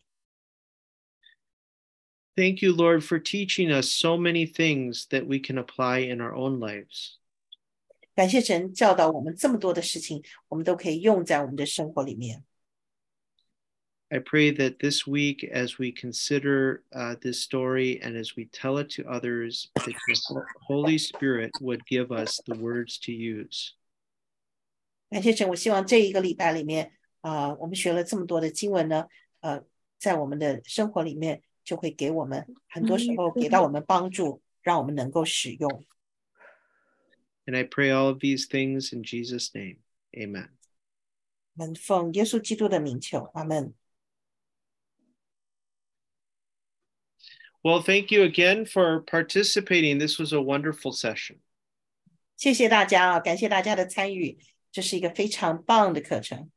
Thank you, Lord, for teaching us so many things that we can apply in our own lives. 感谢神教导我们这么多的事情，我们都可以用在我们的生活里面。 I pray that this week, as we consider uh, this story and as we tell it to others, that the Holy Spirit would give us the words to use. 感谢神，我希望这一个礼拜里面，啊、呃，我们学了这么多的经文呢，呃，在我们的生活里面就会给我们很多时候给到我们帮助，让我们能够使用。 And I pray all of these things in Jesus' name. Amen. 我们奉耶稣基督的名求，阿门。 Well, thank you again for participating. This was a wonderful session. 谢谢大家啊，感谢大家的参与，这是一个非常棒的课程。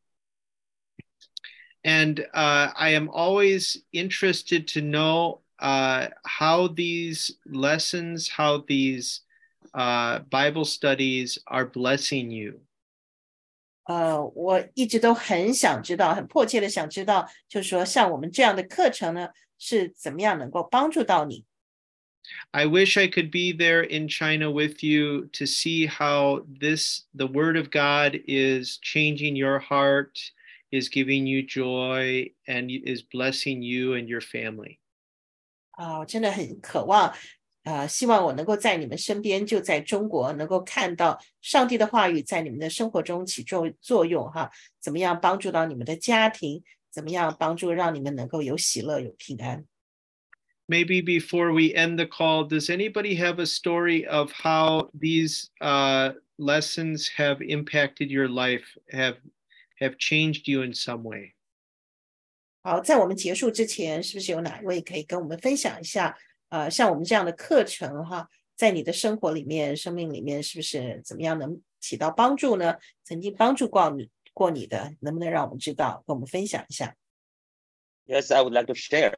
And uh, I am always interested to know uh, how these lessons, how these uh, Bible studies are blessing you. 呃，我一直都很想知道，很迫切的想知道，就是说像我们这样的课程呢，是怎么样能够帮助到你。 I wish I could be there in China with you to see how this, the Word of God, is changing your heart, is giving you joy, and is blessing you and your family. 啊、我真的很渴望，呃，希望我能够在你们身边，就在中国，能够看到上帝的话语在你们的生活中起作作用哈，怎么样帮助到你们的家庭，怎么样帮助让你们能够有喜乐、有平安。 Maybe before we end the call, does anybody have a story of how these uh, lessons have impacted your life, have have changed you in some way? 好，在我们结束之前，是不是有哪一位可以跟我们分享一下？呃，像我们这样的课程哈，在你的生活里面、生命里面，是不是怎么样能起到帮助呢？曾经帮助过你， 过你的，能不能让我们知道，跟我们分享一下？ Yes, I would like to share.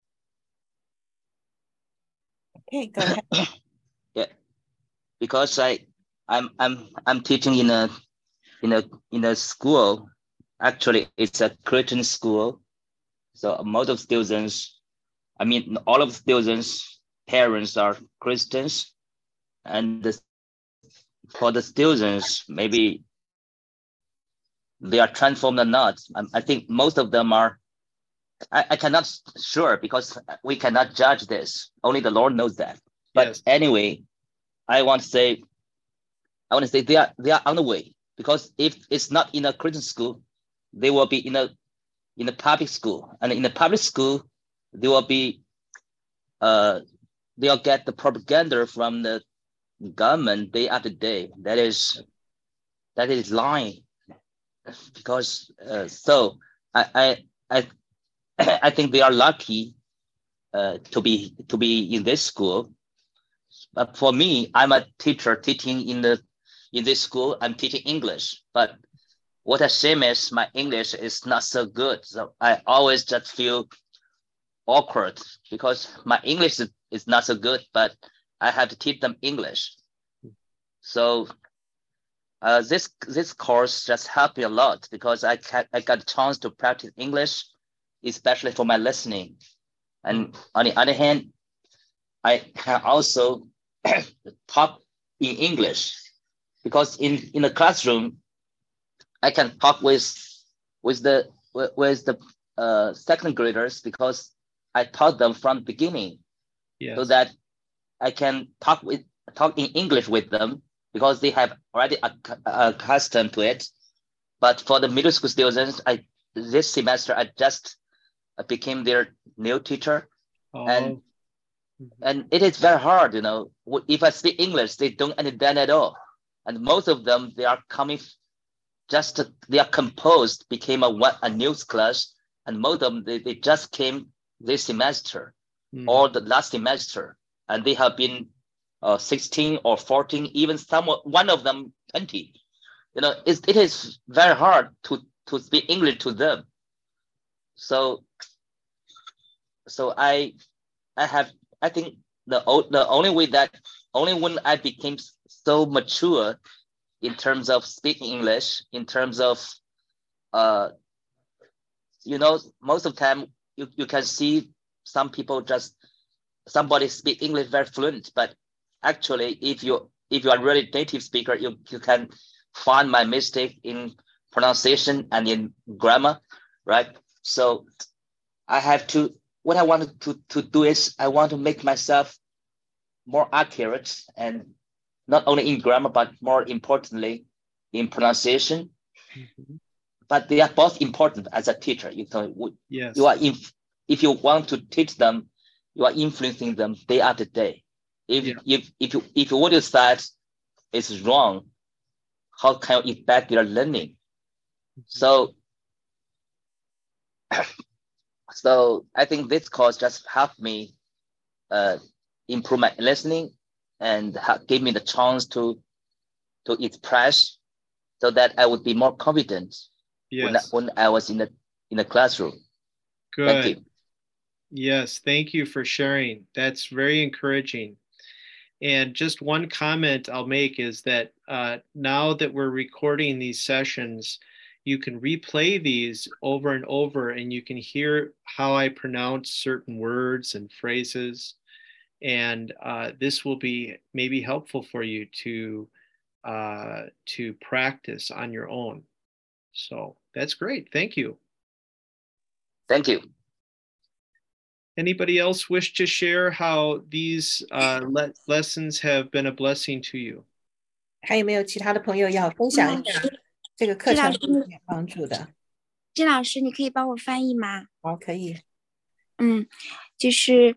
Okay, go ahead. Yeah, because I, I'm, I'm, I'm teaching in a, in a, in a school. Actually, it's a Christian school. So most of students, I mean, all of the students' parents are Christians, and the, for the students, maybe they are transformed or not. I, I think most of them are. I, I cannot sure because we cannot judge this. Only the Lord knows that. But yes. Anyway, I want to say, I want to say they are they are on the way, because if it's not in a Christian school, they will be in a in a public school, and in the public school, they will be uh they'll get the propaganda from the government day after day. That is that is lying, because uh, so I I I. I think they are lucky uh, to be to be in this school. But for me, I'm a teacher teaching in the in this school. I'm teaching English, but what a shame is my English is not so good. So I always just feel awkward because my English is, is not so good, but I have to teach them English. So uh, this this course just helped me a lot, because I ca- I got a chance to practice English, especially for my listening. And on the other hand, I can also talk in English, because in, in the classroom, I can talk with with the with the uh, second graders, because I taught them from the beginning, yes. so that I can talk with talk in English with them, because they have already ac- accustomed to it. But for the middle school students, I this semester I just I became their new teacher, oh. and and it is very hard, you know. If I speak English, they don't understand at all, and most of them they are coming, just to, they are composed, became a a news class, and most of them they, they just came this semester mm. or the last semester, and they have been uh, sixteen or fourteen, even some one of them twenty. You know, it's, it is very hard to to speak English to them. So, so I, I have, I think the the only way that, only when I became so mature in terms of speaking English, in terms of, uh, you know, most of the time you, you can see some people just, somebody speak English very fluent, but actually if you, if you are really native speaker, you, you can find my mistake in pronunciation and in grammar, right? So I have to, what I want to, to do is I want to make myself more accurate, and not only in grammar, but more importantly in pronunciation. Mm-hmm. But they are both important as a teacher. You know, yes. you are, if, if you want to teach them, you are influencing them day after day. If, yeah. if, if, you, if what you said is wrong, how can you impact their learning? Mm-hmm. So, So I think this course just helped me uh, improve my listening, and ha- gave me the chance to to express, so that I would be more confident yes. when, I, when I was in the in the classroom. Good. Thank you. Yes, thank you for sharing. That's very encouraging. And just one comment I'll make is that uh, now that we're recording these sessions, you can replay these over and over, and you can hear how I pronounce certain words and phrases. And uh, this will be maybe helpful for you to uh, to practice on your own. So that's great. Thank you. Thank you. Anybody else wish to share how these uh, le- lessons have been a blessing to you? 还有没有其他的朋友要分享一下这个课程对你有帮助的？ 金老师，你可以帮我翻译吗？ 好，可以。 嗯，就是，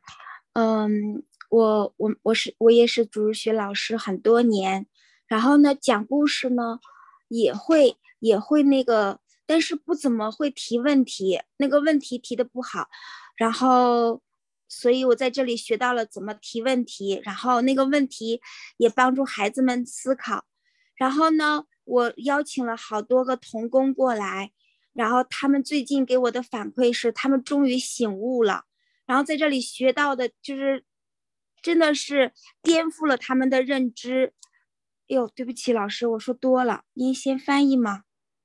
嗯，我我我是我也是主日学老师很多年，然后呢讲故事呢也会也会那个，但是不怎么会提问题，那个问题提的不好，然后所以我在这里学到了怎么提问题，然后那个问题也帮助孩子们思考，然后呢我邀请了好多个童工过来，然后他们最近给我的反馈是，他们终于醒悟了，然后在这里学到的就是真的是颠覆了他们的认知。哎呦，对不起，老师，我说多了，您先翻译吗？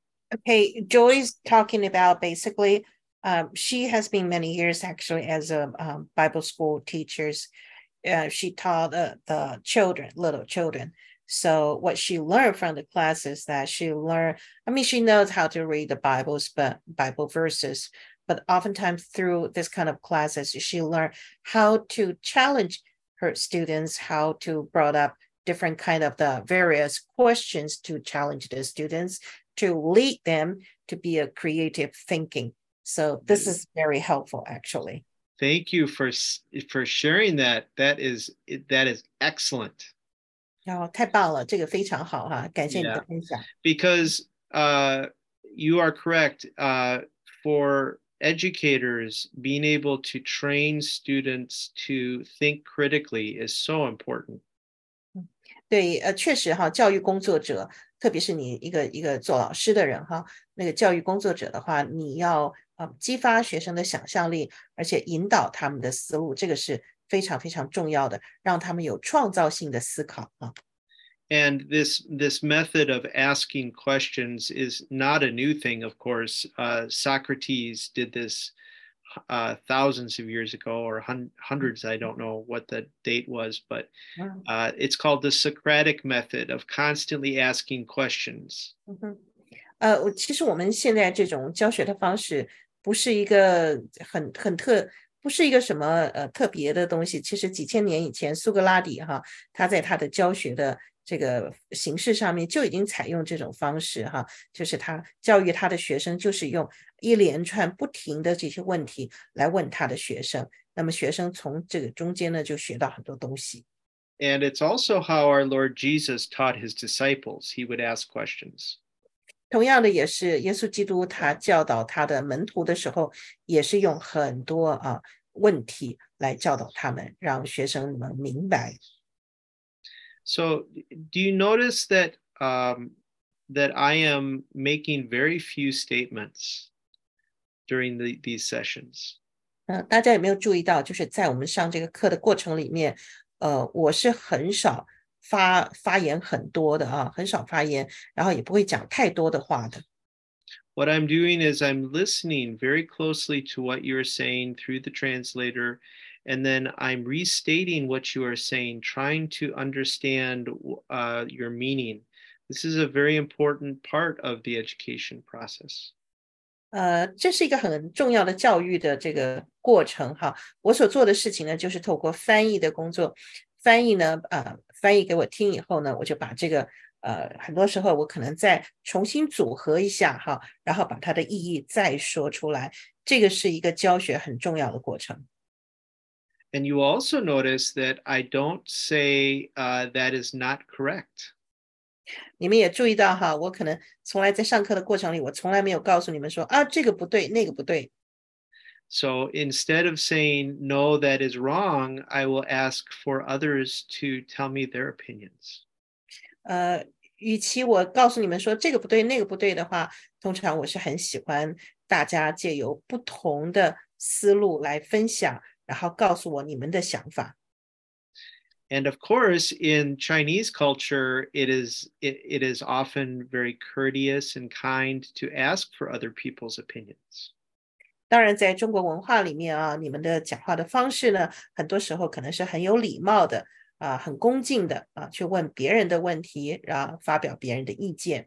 Okay, Joy's talking about basically, um, she has been many years actually as a um, Bible school teachers. Uh, she taught uh, the children, little children. So what she learned from the class is that she learned, I mean, she knows how to read the Bibles, but Bible verses, but oftentimes through this kind of classes, she learned how to challenge her students, how to brought up different kind of the various questions to challenge the students, to lead them to be a creative thinking. So this is very helpful, actually. Thank you for for sharing that. That is that is excellent. 哦，太棒了，这个非常好哈，感谢你的分享。 Because uh, you are correct. Uh, for educators, being able to train students to think critically is so important. 对，呃，确实哈，教育工作者，特别是你一个一个做老师的人哈，那个教育工作者的话，你要呃激发学生的想象力，而且引导他们的思路，这个是非常非常重要的，让他们有创造性的思考啊。 And this this method of asking questions is not a new thing, of course. Uh, Socrates did this uh, thousands of years ago, or hun hundreds. I don't know what the date was, but uh, it's called the Socratic method of constantly asking questions. 嗯哼，呃，其实我们现在这种教学的方式不是一个很很特，不是一个什么呃特别的东西。其实几千年以前，苏格拉底哈，他在他的教学的这个形式上面就已经采用这种方式哈，就是他教育他的学生，就是用一连串不停的这些问题来问他的学生，那么学生从这个中间呢就学到很多东西。 And it's also how our Lord Jesus taught his disciples. He would ask questions. 同样的也是耶稣基督他教导他的门徒的时候，也是用很多啊问题来教导他们，让学生们明白。 So do you notice that um, that I am making very few statements during the, these sessions? 呃，大家有没有注意到，就是在我们上这个课的过程里面，呃，我是很少发发言很多的啊，很少发言，然后也不会讲太多的话的。 What I'm doing is I'm listening very closely to what you're saying through the translator, and then I'm restating what you are saying, trying to understand uh, your meaning. This is a very important part of the education process. 呃，这是一个很重要的教育的这个过程哈。我所做的事情呢，就是透过翻译的工作，翻译呢，呃，翻译给我听以后呢，我就把这个，呃，很多时候我可能再重新组合一下哈，然后把它的意义再说出来。这个是一个教学很重要的过程。 And you also notice that I don't say uh, that is not correct. 你们也注意到哈，我可能从来在上课的过程里，我从来没有告诉你们说啊，这个不对，那个不对。 So instead of saying, no, that is wrong, I will ask for others to tell me their opinions. 呃，与其我告诉你们说这个不对，那个不对的话，通常我是很喜欢大家借由不同的思路来分享，然后告诉我你们的想法。 And of course, in Chinese culture, it is it, it is often very courteous and kind to ask for other people's opinions. 当然，在中国文化里面啊，你们的讲话的方式呢，很多时候可能是很有礼貌的啊，很恭敬的啊，去问别人的问题，然后发表别人的意见。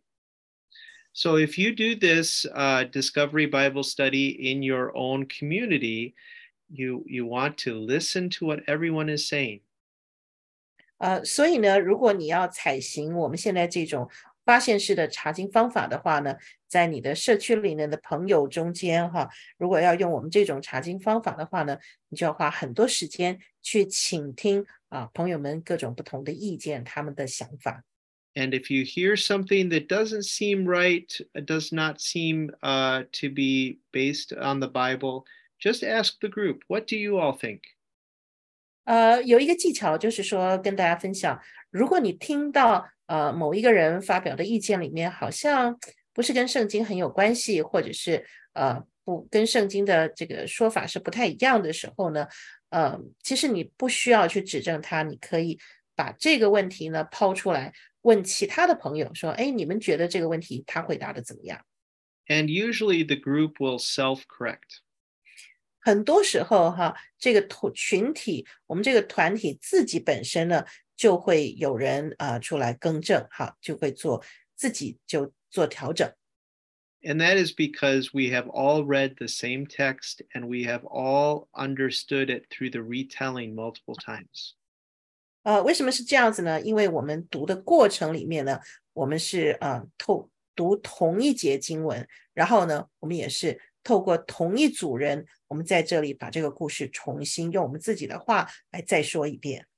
So if you do this uh, Discovery Bible Study in your own community, you you want to listen to what everyone is saying. 呃，所以呢，如果你要采行我们现在这种发现式的查经方法的话呢，在你的社区里面的朋友中间哈，如果要用我们这种查经方法的话呢，你就要花很多时间去倾听啊朋友们各种不同的意见，他们的想法。 And if you hear something that doesn't seem right, does not seem uh, to be based on the Bible, just ask the group, what do you all think? 呃，有一个技巧就是说跟大家分享，如果你听到呃某一个人发表的意见里面好像不是跟圣经很有关系，或者是呃不跟圣经的这个说法是不太一样的时候呢，呃，其实你不需要去指正他，你可以把这个问题呢抛出来，问其他的朋友说，哎，你们觉得这个问题他回答的怎么样？ And usually the group will self-correct. 很多时候哈，这个群体，我们这个团体自己本身呢，就会有人啊、呃、出来更正，哈，就会做自己就做调整。 And that is because we have all read the same text and we have all understood it through the retelling multiple times. 呃，为什么是这样子呢？因为我们读的过程里面呢，我们是呃透读同一节经文，然后呢，我们也是透过同一组人，我们在这里把这个故事重新用我们自己的话来再说一遍。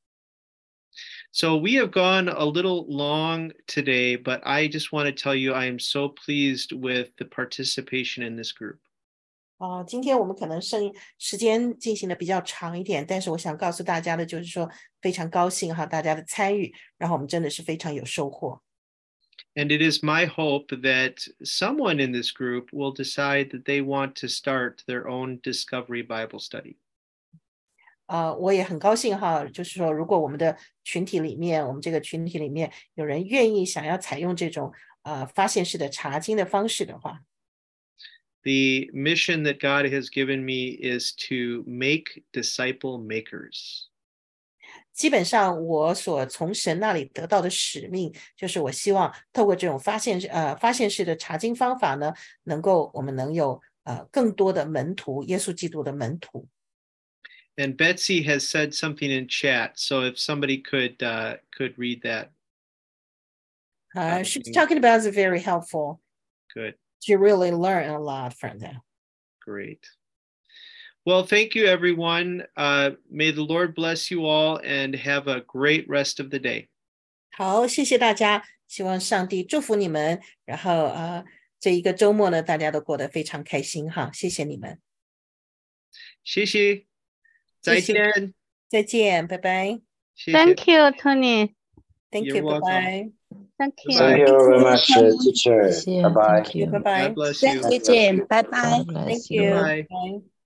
So we have gone a little long today, but I just want to tell you I am so pleased with the participation in this group. 哦，今天我们可能剩时间进行的比较长一点，但是我想告诉大家的就是说，非常高兴哈，大家的参与，然后我们真的是非常有收获。 And it is my hope that someone in this group will decide that they want to start their own Discovery Bible study. 呃，我也很高兴哈，就是说，如果我们的群体里面，我们这个群体里面有人愿意想要采用这种呃发现式的查经的方式的话。 The mission that God has given me is to make disciple makers. 基本上我所从神那里得到的使命，就是我希望透过这种发现呃发现式的查经方法呢，能够我们能有呃更多的门徒，耶稣基督的门徒。 And Betsy has said something in chat, so if somebody could uh, could read that. Uh, she's talking about is very helpful. Good. You really learn a lot from them. Great. Well, thank you, everyone. Uh, may the Lord bless you all and have a great rest of the day. 好，谢谢大家，希望上帝祝福你们。然后呃，这一个周末呢，大家都过得非常开心哈，谢谢你们。 谢谢，再见， 再见，拜拜。 Thank you, Tony. Thank You're you. Bye welcome. bye. Thank you. Thank you very much, uh, teacher. Bye bye. Bye bye. God bless you. Bye bye. God Thank you. Bye. Bye.